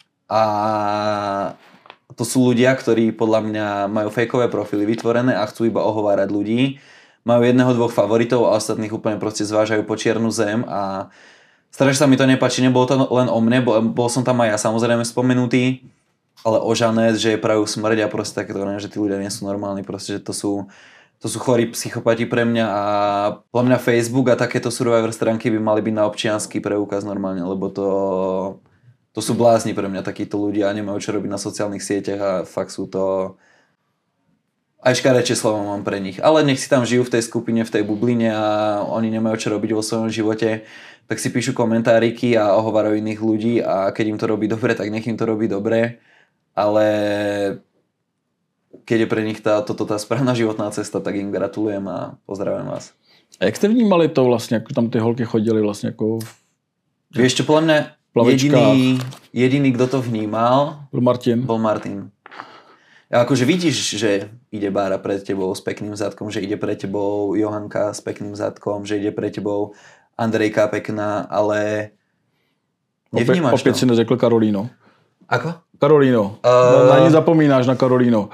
a to sú ľudia, ktorí podľa mňa majú fejkové profily vytvorené a chcú iba ohovárať ľudí. Majú jedného, dvoch favoritov a ostatných úplne proste zvážajú po čiernu zem a strašne sa mi to nepáči. Nebolo to len o mne, bol som tam aj ja samozrejme spomenutý, ale o Žanet, že je prajú smrť a proste takéto, že tí ľudia nie sú normálni, proste, že to sú chorí psychopati pre mňa a podľa mňa Facebook a takéto Survivor stránky by mali byť na občiansky preukaz normálne, lebo to sú blázni pre mňa takíto ľudia a nemajú čo robiť na sociálnych sieťach a fakt sú to... Aj škarečie slovo mám pre nich. Ale nech si tam žijú v tej skupine, v tej bubline a oni nemajú čo robiť vo svojom živote, tak si píšu komentáriky a ohovárajú iných ľudí a keď im to robí dobre, tak nech im to robí dobre. Ale keď je pre nich toto tá správna životná cesta, tak im gratulujem a pozdravujem vás. A jak ste vnímali to vlastne, ako tam tie holky chodili vlastne ako... Vieš čo, podľa mňa jediný, kto to vnímal, bol Martin. A akože vidíš, že ide Bára pred tebou s pekným zadkom, že ide pred tebou Johanka s pekným zadkom, že ide pred tebou Andrejka pekná, ale nevnímaš opět to. si neřekl Karolíno. Ako? Karolíno. Na ní zapomínáš, na Karolíno.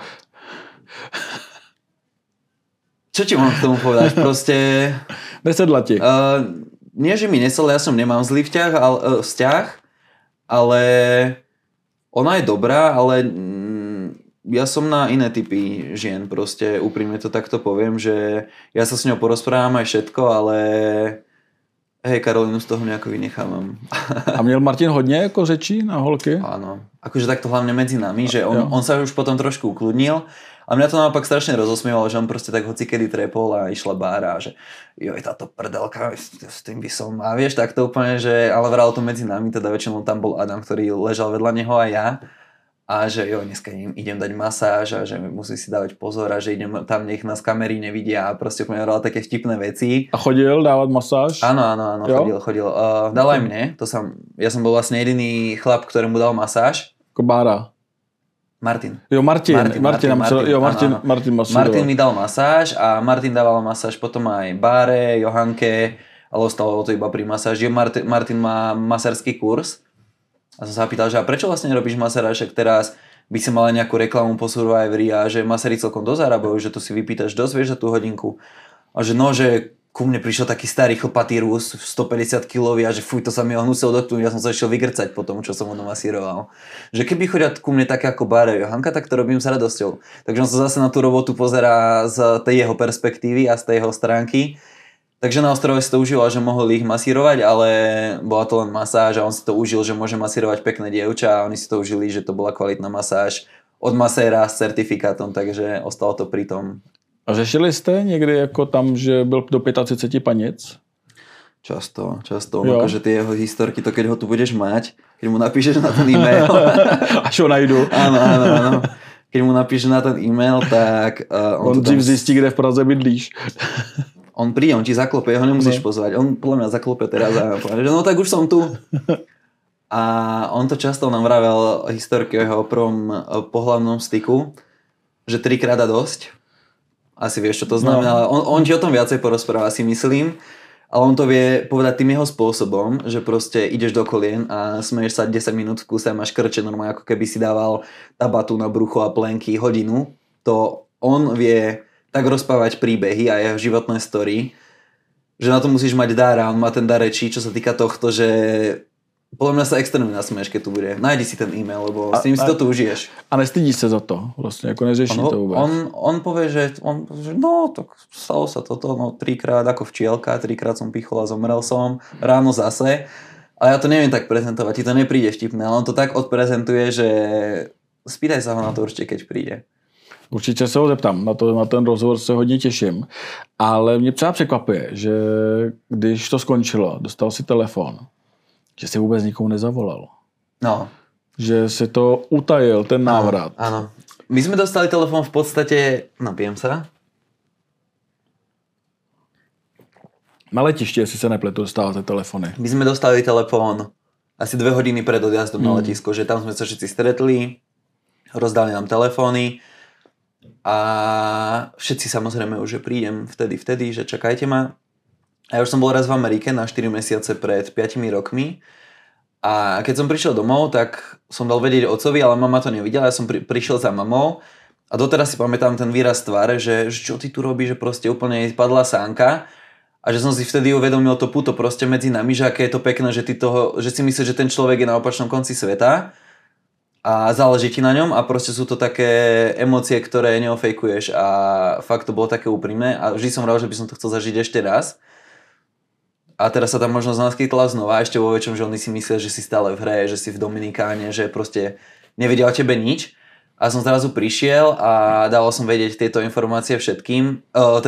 Čo ti mám k tomu povedať? Proste... Nesedla ti. Nie, že mi nesedla, ja som nemám zlý vzťah, ale ona je dobrá, ale ja som na iné typy žien, proste úprimne to takto poviem, že ja sa s ňou porozprávam aj všetko, ale hej, Karolínu z toho nejako vynechávam. A měl Martin hodně jako řečí na holky? Áno, akože takto hlavne medzi nami, že on sa už potom trošku ukludnil. A mňa to naopak strašne rozosmievalo, že on proste tak hocikedy trepol a išla Bára, že joj, táto prdelka, s tým by som, a vieš, tak to úplne, že, ale vralo to medzi nami, teda väčšinou tam bol Adam, ktorý ležal vedľa neho a ja, a že jo, dneska idem dať masáž a že musí si dávať pozor a že idem tam, nech nás kamery nevidia a proste úplne vralo také vtipné veci. A chodil dávať masáž? Áno, chodil. Dal aj mne, ja som bol vlastne jediný chlap, ktorému dal masáž. Ako Bára. Martin. Jo, Martin mi dal masáž a Martin dával masáž potom aj Báre, Johanke, ale ostalo to iba pri masáži. Martin má masársky kurz a som sa pýtal, že a prečo vlastne robíš masáž, ak teraz by si mala nejakú reklamu po Survivori a že masári celkom dosť zarábajú, že to si vypýtaš dosť, vieš, za tú hodinku. A že no, že ku mne prišiel taký starý chlpatý Rus, 150 kg a že fuj, to sa mi ho hnusilo dotknúť, ja som sa išiel vygrcať po tom, čo som ho masíroval. Že keby chodia ku mne také ako Bára Johanka, tak to robím s radosťou. Takže on sa zase na tú robotu pozerá z tej jeho perspektívy a z tej jeho stránky. Takže na ostrove si to užíval, že mohol ich masírovať, ale bola to len masáž a on si to užil, že môže masírovať pekné dievča a oni si to užili, že to bola kvalitná masáž od maséra s certifikátom, takže ostalo to pri tom. A řešili jste někdy jako tam, že byl do 35 panic? Často. Akože tie jeho historky, to keď ho tu budeš mať, keď mu napíšeš na ten e-mail. Až ho najdu. Áno. Keď mu napíšeš na ten e-mail, tak... on dřív zjistí, kde v Praze bydlíš. On príde, on ti zaklope, ho nemusíš pozvať. On podľa mňa zaklope teraz a povie, že no tak už som tu. A on to často nám vravel historky o jeho prvom pohlavnom styku, že 3-krát a dosť. Asi vieš, čo to znamená. On ti o tom viacej porozpráva, si myslím. Ale on to vie povedať tým jeho spôsobom, že proste ideš do kolien a smeješ sa 10 minút v kúse a máš krče normálne, ako keby si dával tabatu na brucho a plenky hodinu. To on vie tak rozprávať príbehy a jeho životné story, že na to musíš mať dar a on má ten dar rečí, čo sa týka tohto, že podľa mňa sa extrémne nasmeješ, keď tu bude. Nájdi si ten e-mail, lebo s ním si to tu užiješ. A nestydíš sa za to? Vlastne, ako neřeší to vôbec? On povie, že no, tak stalo sa toto, no 3-krát ako včielka, 3-krát som pichol a zomrel som, ráno zase. A ja to neviem tak prezentovať, ti to nepríde vtipné, ale on to tak odprezentuje, že spýtaj sa ho na to určite, keď príde. Určitě se ho zeptám, na ten rozhovor se hodně těším. Ale mě třeba překvapuje, že když to skončilo, dostal si telefon, že si vůbec nikomu nezavolal. No. Že si to utajil, ten návrat. Áno. My sme dostali telefon v podstate, napijem sa. Na letišti, jestli se nepletu, dostávate telefony. My sme dostali telefon asi 2 hodiny pred odjazdom na letisko, že tam sme sa všetci stretli, rozdali nám telefóny a všetci samozrejme už, že prídem vtedy, že čakajte ma. A ja už som bol raz v Amerike na 4 mesiace pred 5 rokmi a keď som prišiel domov, tak som dal vedieť otcovi, ale mama to nevidela, ja som prišiel za mamou a doteraz si pamätám ten výraz tváre, že čo ty tu robíš, že proste úplne padla sánka a že som si vtedy uvedomil to puto proste medzi nami, že aké je to pekné, že si myslíš, že ten človek je na opačnom konci sveta a záleží ti na ňom a proste sú to také emócie, ktoré neofejkuješ a fakt to bolo také úprimné a vždy som rád, že by som to chcel zažiť ešte raz. A teraz sa tam možnosť naskytla znova, ešte vo väčšom, že oni si myslia, že si stále v hre, že si v Dominikáne, že proste nevedia o tebe nič. A som zrazu prišiel a dával som vedieť tieto informácie všetkým,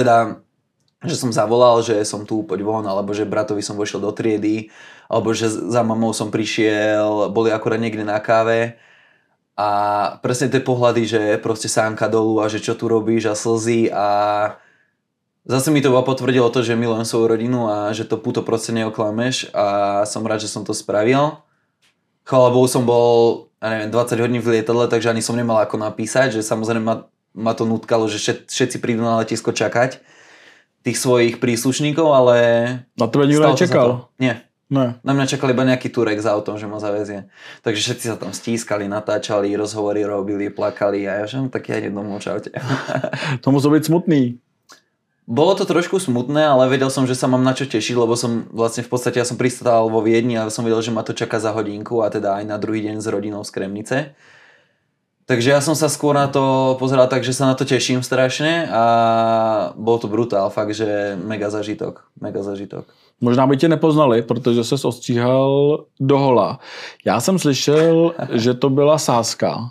že som zavolal, že som tu, poď von, alebo že bratovi som vošiel do triedy, alebo že za mamou som prišiel, boli akurát niekde na káve. A presne tie pohľady, že proste sánka dolu a že čo tu robíš a slzy a zase mi to potvrdilo to, že milujem svoju rodinu a že to puto proste neoklameš a som rád, že som to spravil. Chvála Bohu som bol, 20 hodín v lietadle, takže ani som nemal ako napísať, že samozrejme ma to nutkalo, že všetci prídu na letisko čakať tých svojich príslušníkov, ale... Na tebe nikto nečakal? Nie. Ne. Na mňa čakal iba nejaký Turek za autom, že ma zavezie. Takže všetci sa tam stískali, natáčali, rozhovory robili, plakali a ja že tak ja idem domov, čaute. To muselo byť smutný. Bolo to trošku smutné, ale vedel som, že sa mám na čo tešiť, lebo som vlastne v podstate, ja som pristál vo Viedni a som vedel, že ma to čaká za hodinku a teda aj na druhý deň s rodinou z Kremnice. Takže ja som sa skôr na to pozeral tak, že sa na to teším strašne a bol to brutál, fakt, že mega zažitok. Možná by tě nepoznali, protože ses ostříhal dohola. Já jsem slyšel, že to byla sázka.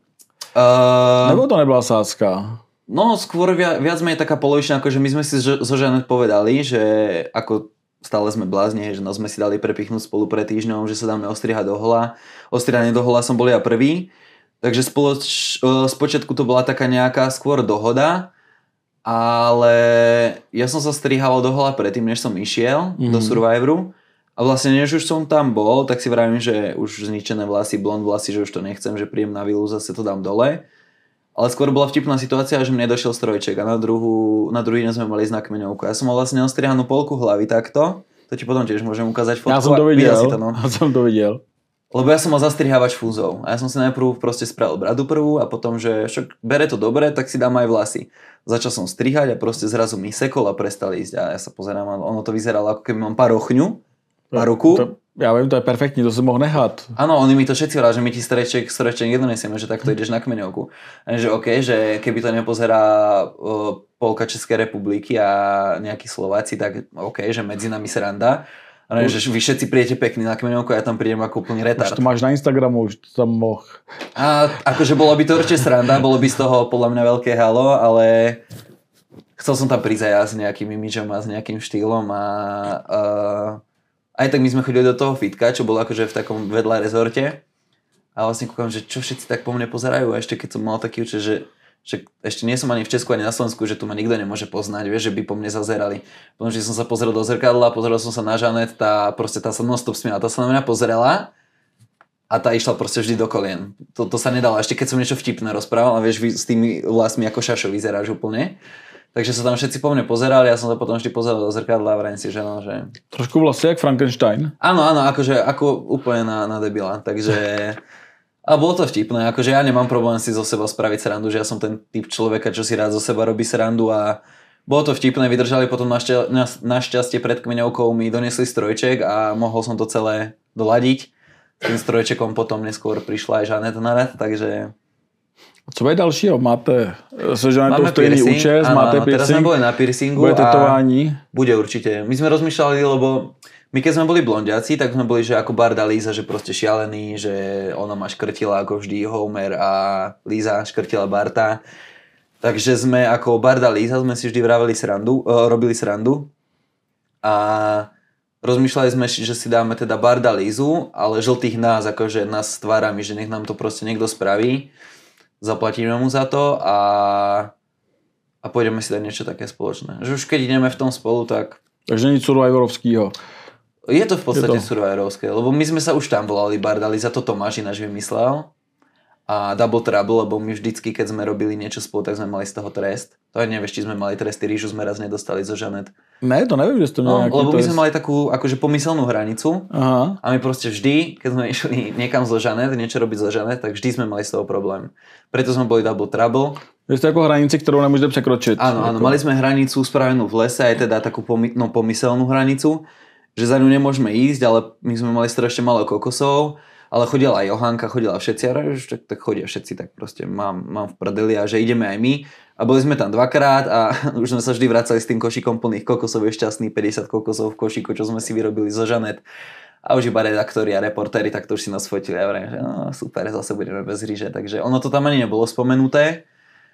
Nebo to nebyla sázka? No, skôr viac menej taká polovičná, akože my sme si so Žanet povedali, že ako stále sme blázni, že sme si dali prepichnúť spolu pred týždňom, že sa dáme ostrihať dohola. Ostrihanie dohola som bol ja prvý. Takže spočiatku to bola taká nejaká skôr dohoda, ale ja som sa strihal dohola predtým, než som išiel do Survivoru a vlastne než už som tam bol, tak si vravím, že už zničené vlasy, blond vlasy, že už to nechcem, že príjem na vilu, zase to dám dole. Ale skôr bola vtipná situácia, že mne došiel strojček a na druhý deň sme mali znak kmeňovku. Ja som mal vlastne ostrihanú polku hlavy takto, to ti potom tiež môžem ukázať fotku. Ja som to videl, Lebo ja som mal zastrihávač fúzov a ja som si najprv proste spravil bradu prvú a potom, že však bere to dobre, tak si dám aj vlasy. Začal som strihať a proste zrazu mi sekol a prestali ísť a ja sa pozerám a ono to vyzeralo ako keby mám parochňu, paruku. Ja viem, to je perfektní, to si mohl nechat. Áno, oni mi to všetci vrali, že my ti streček nedonesieme, že takto ideš na kmeňovku. A že OK, že keby to nepozerá polka Českej republiky a nejakí Slováci, tak OK, že medzi nami sranda. Ale že vy všetci príjete pekný na kmeňovku a ja tam prídem ako úplný retard. Už to máš na Instagramu, už to tam moh. A akože bolo by to určite sranda, bolo by z toho podľa mňa veľké halo, ale chcel som tam prísť aj ja s nejakým imidžom a s nejakým štýlom a aj tak my sme chodili do toho fitka, čo bolo akože v takom vedľa rezorte a vlastne kúkam, že čo všetci tak po mne pozerajú a ešte keď som mal taký účet, že ešte nie som ani v Česku, ani na Slovensku, že tu ma nikto nemôže poznať, vieš, že by po mne zazerali. Potom, že som sa pozrel do zrkadla, pozrel som sa na Žanet, tá sa non-stop smiala, tá sa na mňa pozrela a tá išla proste vždy do kolien. To sa nedalo, ešte keď som niečo vtipné rozprával, a vieš, s tými vlasmi ako šašo vyzeráš úplne. Takže sa tam všetci po mne pozerali, ja som sa potom vždy pozeral do zrkadla a vrajím si, že no, že... Trošku vlastne jak Frankenstein. Áno, akože ako úplne na debila, takže... A bolo to vtipné, akože ja nemám problém si zo seba spraviť srandu, že ja som ten typ človeka, čo si rád zo seba robí srandu a bolo to vtipné, vydržali potom našťastie pred kmeňovkou mi donesli strojček a mohol som to celé doladiť. S tým strojčekom potom neskôr prišla aj Žanet na rad, takže... Co je dalšího? Máte se Žanetou stejný účes, máte piercing? Teraz sme boli na piercingu. Bude tetování? Bude určite. My sme rozmýšľali, lebo my keď sme boli blondiaci, tak sme boli, že ako Barda Líza, že proste šialený, že ona ma škrtila ako vždy Homer a Líza škrtila Barta. Takže sme ako Barda Líza sme si vždy robili srandu a rozmýšľali sme, že si dáme teda Barda Lízu, ale žltých nás, akože nás s tvárami, že nech nám to proste niekto spraví. Zaplatíme mu za to a pôjdeme si dať niečo také spoločné. Že už keď ideme v tom spolu, tak... Takže nic survivorovského. Je to v podstate survivorovské, lebo my sme sa už tam volali Barda Líza, to Tomáš ináč vymyslel. A Double Trouble, lebo my vždycky, keď sme robili niečo spolu, tak sme mali z toho trest. To aj nevieš, či sme mali tresty, rýžu sme raz nedostali zo Žanet. Ne, to neviem, že ste mali nejaký lebo trest. my sme mali takú akože pomyselnú hranicu. Aha. A my proste vždy, keď sme išli niekam zo Žanet, niečo robiť zo Žanet, tak vždy sme mali z toho problém. Preto sme boli Double Trouble. Vy ste ako hranici, ktorú nemôžete prekročiť. Áno, mali sme hranicu spravenú v lese, aj teda takú pomyselnú hranicu, že za ňu nemôžeme ísť, ale my sme mali strašne málo kokosov, ale chodila aj Johanka, chodila všetci, a tak chodia všetci, tak proste mám v prdeli a že ideme aj my. A boli sme tam dvakrát a už sme sa vždy vracali s tým košíkom plných kokosov, je šťastný 50 kokosov v košíku, čo sme si vyrobili zo Žanet. A už iba redaktori a reportéri, tak to už si nás fotili a vrajím, že no super, zase budeme bez ríže, takže ono to tam ani nebolo spomenuté.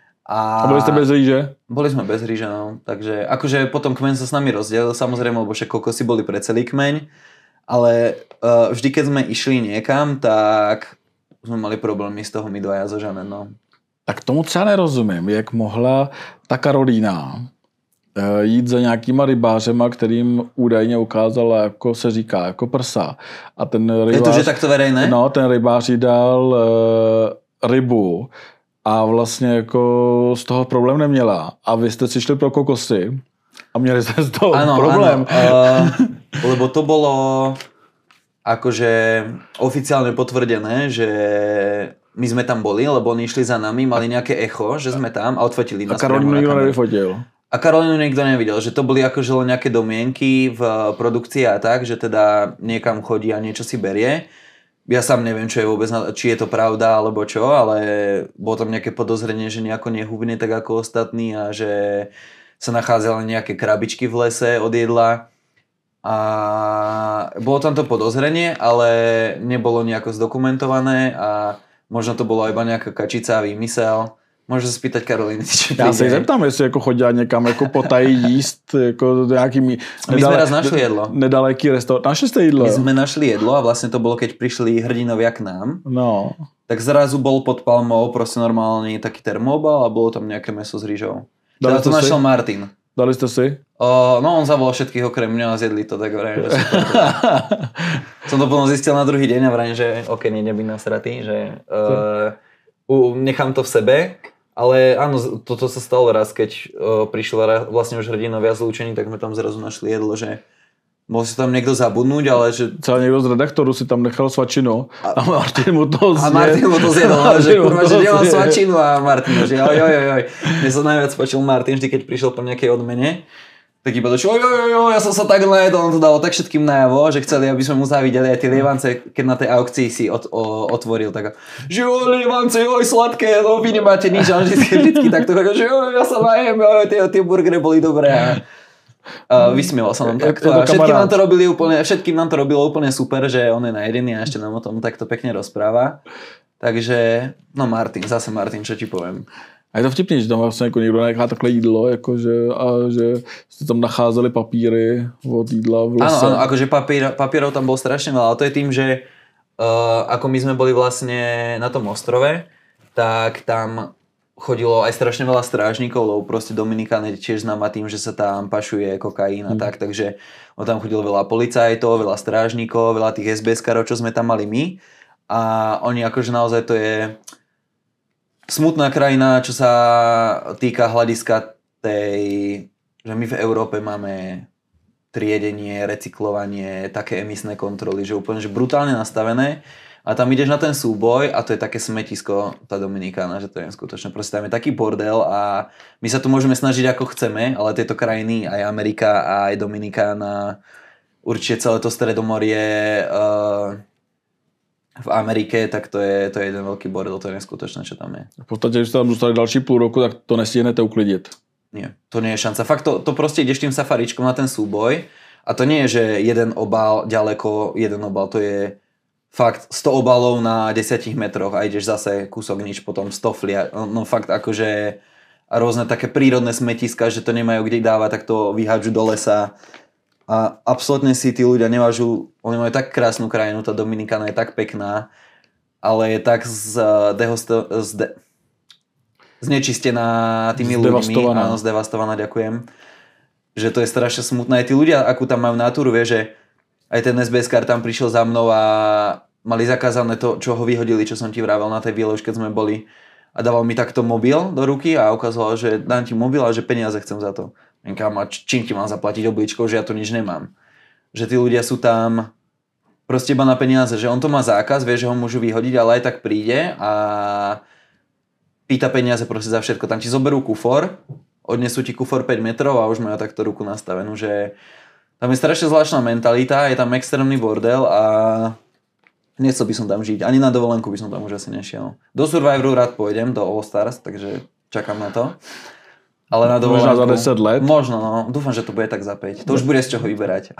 A boli ste bez ríže? Boli sme bez ríže, no. Takže akože potom kmeň sa s nami rozdelil, samozrejme, lebo však kokosy boli pre celý kmeň. Ale vždy, keď sme išli niekam, tak sme mali problémy z toho my dvaja zo Žanet, no. Tak tomu třeba nerozumím, jak mohla ta Karolína jít za nějakýma rybářema, kterým údajně ukázala, jako se říká, jako prsa. A ten rybář... Je to, že takto verejné? No, ten rybář jí dal rybu a vlastně jako z toho problém neměla. A vy jste si šli pro kokosy a měli jste z toho problém. Lebo to bolo akože oficiálne potvrdené, že my sme tam boli, lebo oni išli za nami, mali nejaké echo, že sme tam a odfotili nás. A Karolínu nikto nevyfotil. A Karolínu nikto nevidel, že to boli akože len nejaké domienky v produkcii a tak, že teda niekam chodí a niečo si berie. Ja sám neviem, čo je vôbec, či je to pravda alebo čo, ale bolo tam nejaké podozrenie, že nejako nehubne tak ako ostatní a že sa nachádzali nejaké krabičky v lese od jedla. A bolo tam to podozrenie, ale nebolo nejako zdokumentované a možno to bolo iba nejaká kačica a výmysel. Môžeš sa spýtať Karolíny, či Já se zeptám, jestli jako chodí někam jako potají jíst jako nějakými... My sme raz našli jedlo. Nedaleký restaurant. Našli ste jedlo? My sme našli jedlo a vlastne to bolo, keď prišli hrdinovia k nám. No. Tak zrazu bol pod palmou proste normálny taký termobal a bolo tam nejaké mäso s rýžou. Teda to našiel Martin. Dali ste si? No on zavolal všetkých okrem mňa a zjedli to, tak vrajím, že super. Som to potom zistil na druhý deň a vrajím, že ok, nebyť nasratý, že nechám to v sebe. Ale áno, toto sa stalo raz, keď prišla vlastne už hrdinovia zlúčení, tak sme tam zrazu našli jedlo, že Mohol si tam niekto zabudnúť, ale že... Celá niekto z redaktoru si tam nechal svačinu a Martin mu to zjedol. A Martin mu to zjedol, že kurva, že nemám svačinu a Martin, že oj. Mne sa najviac páčil Martin, vždy keď prišiel po nejakej odmene, tak iba došiel, ja som sa tak najedol, on to dalo tak všetkým najavo, že chceli, aby sme mu závideli aj tie lievance, keď na tej aukcii si otvoril, tak že lievance, sladké, no vy nemáte nič, a vždycky takto, že ja sa najem, tie burgery boli dobré. Vysmieval sa nám takto a všetkým nám to robilo úplne super, že on je najedený a ešte nám o tom takto pekne rozpráva. Takže, no Martin, čo ti poviem. A je to vtipný, že tam vlastně jako někdo nechá takhle jídlo, jakože, a že jste tam nacházeli papíry od jídla v lese. Áno, akože papírov tam bol strašne veľa, ale to je tým, že ako my sme boli vlastne na tom ostrove, tak tam chodilo aj strašne veľa strážnikov, lebo proste Dominikán je tiež známa tým, že sa tam pašuje kokain a tak, takže tam chodilo veľa policajtov, veľa strážnikov, veľa tých SBS-karov, čo sme tam mali my a oni akože naozaj to je smutná krajina, čo sa týka hľadiska tej, že my v Európe máme triedenie, recyklovanie, také emisné kontroly, že úplne že brutálne nastavené a tam ideš na ten súboj a to je také smetisko, tá Dominikána, že to je skutočne, proste tam je taký bordel a my sa tu môžeme snažiť ako chceme, ale tieto krajiny, aj Amerika, aj Dominikána, určite celé to Stredomorie, v Amerike, tak to je jeden veľký bordel, to je neskutočné, čo tam je. V podstate, když ste tam zostali další půl roku, tak to nestihnete uklidit. Nie, to nie je šanca. Fakt to proste ideš tým safaričkom na ten súboj a to nie je, že jeden obal ďaleko, jeden obal, to je fakt 100 obalov na 10 metroch a ideš zase kúsok nič, potom 100 flia. No fakt akože a rôzne také prírodné smetiska, že to nemajú kde dávať, tak to vyhádžu do lesa. A absolútne si tí ľudia nevážu, oni majú tak krásnu krajinu, tá Dominikána je tak pekná, ale je tak znečistená tými ľuďmi, áno, zdevastovaná, ďakujem, že to je strašne smutné. Aj tí ľudia, akú tam majú natúru, vie, že aj ten SBS-kár tam prišiel za mnou a mali zakázané to, čo ho vyhodili, čo som ti vravel na tej výlož, keď sme boli a dával mi takto mobil do ruky a ukazoval, že dám ti mobil a že peniaze chcem za to. A čím ti mám zaplatiť obličkou, že ja tu nič nemám. Že tí ľudia sú tam proste iba na peniaze, že on to má zákaz, vie, že ho môžu vyhodiť, ale aj tak príde a pýta peniaze proste za všetko. Tam ti zoberú kufor, odnesú ti kufor 5 metrov a už majú takto ruku nastavenú, že tam je strašne zvláštna mentalita, je tam extrémny bordel a nechcel by som tam žiť. Ani na dovolenku by som tam už asi nešiel. Do Survivoru rád pôjdem, do All Stars, takže čakám na to. Ale na dovolenku... Možno za 10 let? Možno, no. Dúfam, že to bude tak za 5. To už bude z čoho vyberať.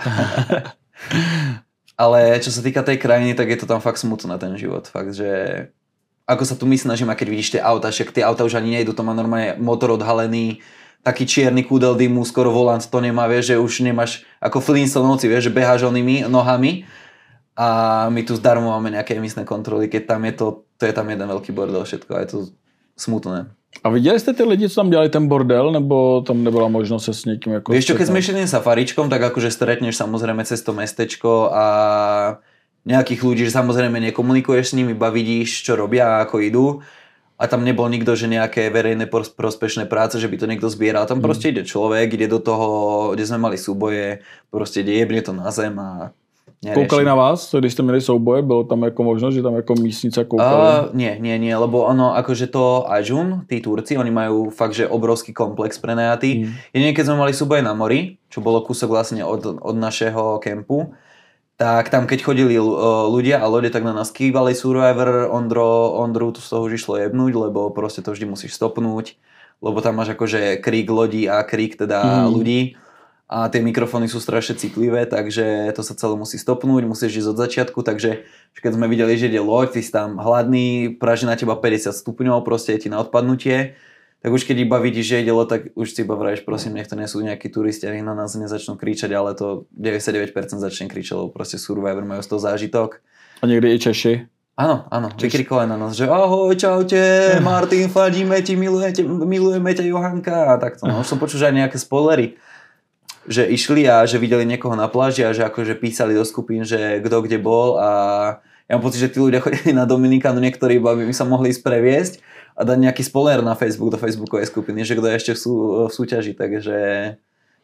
Ale čo sa týka tej krajiny, tak je to tam fakt smutné ten život. Fakt, že ako sa tu my snažíme, keď vidíš tie auta, však tie auta už ani nejdu, to má normálne motor odhalený, taký čierny kúdel dymu, skoro volant to nemá, vieš, že už nemáš ako Flintstonovci, vieš, že beháš onými nohami a my tu zdarmo máme nejaké emisné kontroly, keď tam je to je tam jeden veľký bordel, všetko a je to smutné. A viděli jste ty lidi, co tam dělali ten bordel, nebo tam nebyla možnost se s někým jako... Vieš čo, keď sme išli safaričkom, tak akože stretneš samozrejme cez to mestečko a nejakých ľudí, že samozrejme nekomunikuješ s nimi, iba vidíš, čo robia a ako idú. A tam nebol nikto, že nejaké verejné prospešné práce, že by to niekto zbieral. Tam proste ide človek, ide do toho, kde sme mali súboje, proste ide, jebne to na zem a... Koukali na vás, když jste měli souboje? Bylo tam jako možnost, že tam jako místnice koukali? Nie, lebo ono, akože to Ajun, tí Turci, oni majú fakt, že obrovský komplex prenajatý. Jedine keď sme mali súboje na mori, čo bolo kúsok vlastne od našeho kempu, tak tam keď chodili ľudia a lode, tak na nás kývali Survivor, Ondru to z toho už išlo jebnúť, lebo proste to vždy musíš stopnúť, lebo tam máš akože krík lodí a krík teda ľudí. A tie mikrofóny sú strašne citlivé, takže to sa celé musí stopnúť, musíš ísť od začiatku, takže keď sme videli, že ide loď, ty si tam hladný, praží na teba 50 stupňov, proste je ti na odpadnutie, tak už keď iba vidíš, že ide loď, tak už si iba vravíš, prosím, nech to nie sú nejakí turisti a nech na nás nezačnú kričať, ale to 99% začne kričať, lebo proste Survivor majú z toho zážitok. A niekde i Češi? Áno, vykrikovali na nás, že ahoj, čaute, Martin, fandíme ti, milujeme ťa Johanka a takto. No, už som počul, že aj nejaké spoilery, že išli a že videli niekoho na pláži a že akože písali do skupín, že kto kde bol a ja mám pocit, že tí ľudia chodili na Dominikánu, niektorí by sa mohli ísť previesť a dať nejaký spoiler na Facebook, do Facebookovej skupiny, že kto je ešte v súťaži, takže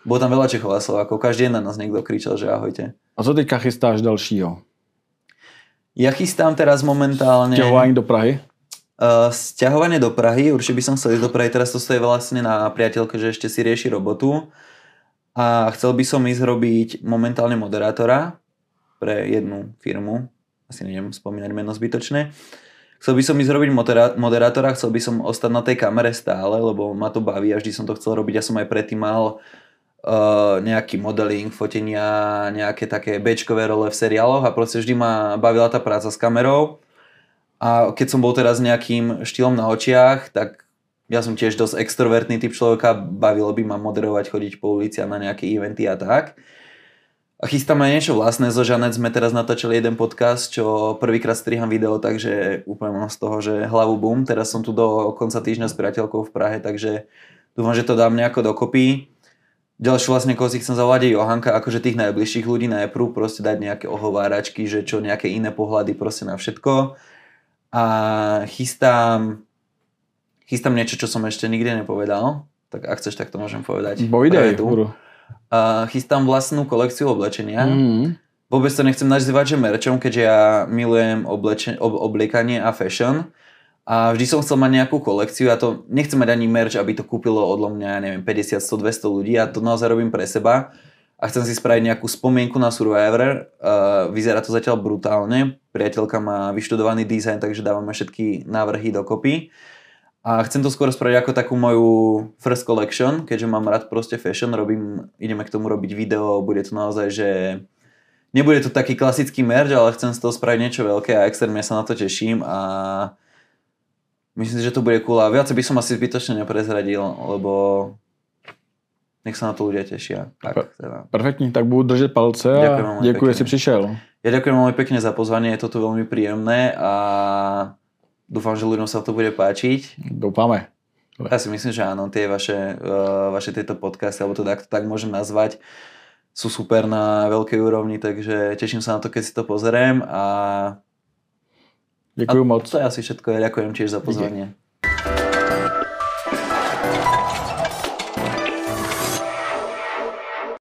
Bolo tam veľa Čechov a Slovákov, každý jeden na nás niekto kričal, že ahojte. A co teďka chystáš dalšího? Ja chystám teraz momentálne... Sťahovanie do Prahy? Sťahovanie do Prahy, určite by som chcel ísť do Prahy, teraz to stojí vlastne na priateľke, že ešte si rieši robotu a chcel by som ísť robiť momentálne moderátora pre jednu firmu, asi neviem spomínať meno zbytočné. Chcel by som ísť robiť moderátora, chcel by som ostať na tej kamere stále, lebo ma to baví a vždy som to chcel robiť, ja som aj predtým mal nejaký modeling, fotenia, nejaké také bečkové role v seriáloch a proste vždy ma bavila tá práca s kamerou a keď som bol teraz nejakým štýlom na očiach, tak ja som tiež dosť extrovertný typ človeka, bavilo by ma moderovať, chodiť po ulici a na nejaké eventy a tak. A chystáme niečo vlastné, so Žanet sme teraz natáčali jeden podcast, čo prvýkrát striham video, takže úplne mám z toho, že hlavu bum. Teraz som tu do konca týždňa s priateľkou v Prahe, takže dúfam, že to dám nejako dokopy. Ďalšiu vlastne, koho si chcem zavolať je Johanka, akože tých najbližších ľudí najprv, proste dať nejaké ohováračky, že čo, nejaké iné pohľady proste na všetko. A chystám niečo, čo som ešte nikdy nepovedal, tak ak chceš, tak to môžem povedať. Bojdej, chystám vlastnú kolekciu oblečenia. Vôbec to nechcem nazývať, že merčom, keďže ja milujem obliekanie a fashion. A vždy som chcel mať nejakú kolekciu a to nechcem mať ani merch, aby to kúpilo odlo mňa, neviem, 50, 100, 200 ľudí. Ja to naozaj robím pre seba a chcem si spraviť nejakú spomienku na Survivor. Vyzerá to zatiaľ brutálne. Priateľka má vyštudovaný dizajn, takže dávame všetky návrhy dokopy. A chcem to skôr spraviť ako takú moju first collection, keďže mám rád proste fashion, ideme k tomu robiť video, bude to naozaj, že nebude to taký klasický merch, ale chcem z toho spraviť niečo veľké a extrémne sa na to teším a myslím si, že to bude cool a viac by som asi zbytočne neprezradil, lebo nech sa na to ľudia tešia. Tak, teda. Perfektní, tak budu držet palce a děkuji, že si přišel. Ja ďakujem veľmi pekne za pozvanie, je to tu veľmi príjemné a dúfam, že ľuďom sa to bude páčiť. Doufáme. Ja si myslím, že áno, tie vaše tieto podcasty, alebo to tak môžem nazvať, sú super na veľkej úrovni, takže teším sa na to, keď si to pozeriem a Děkuji moc. To je asi všetko, ja ďakujem tiež za pozvanie.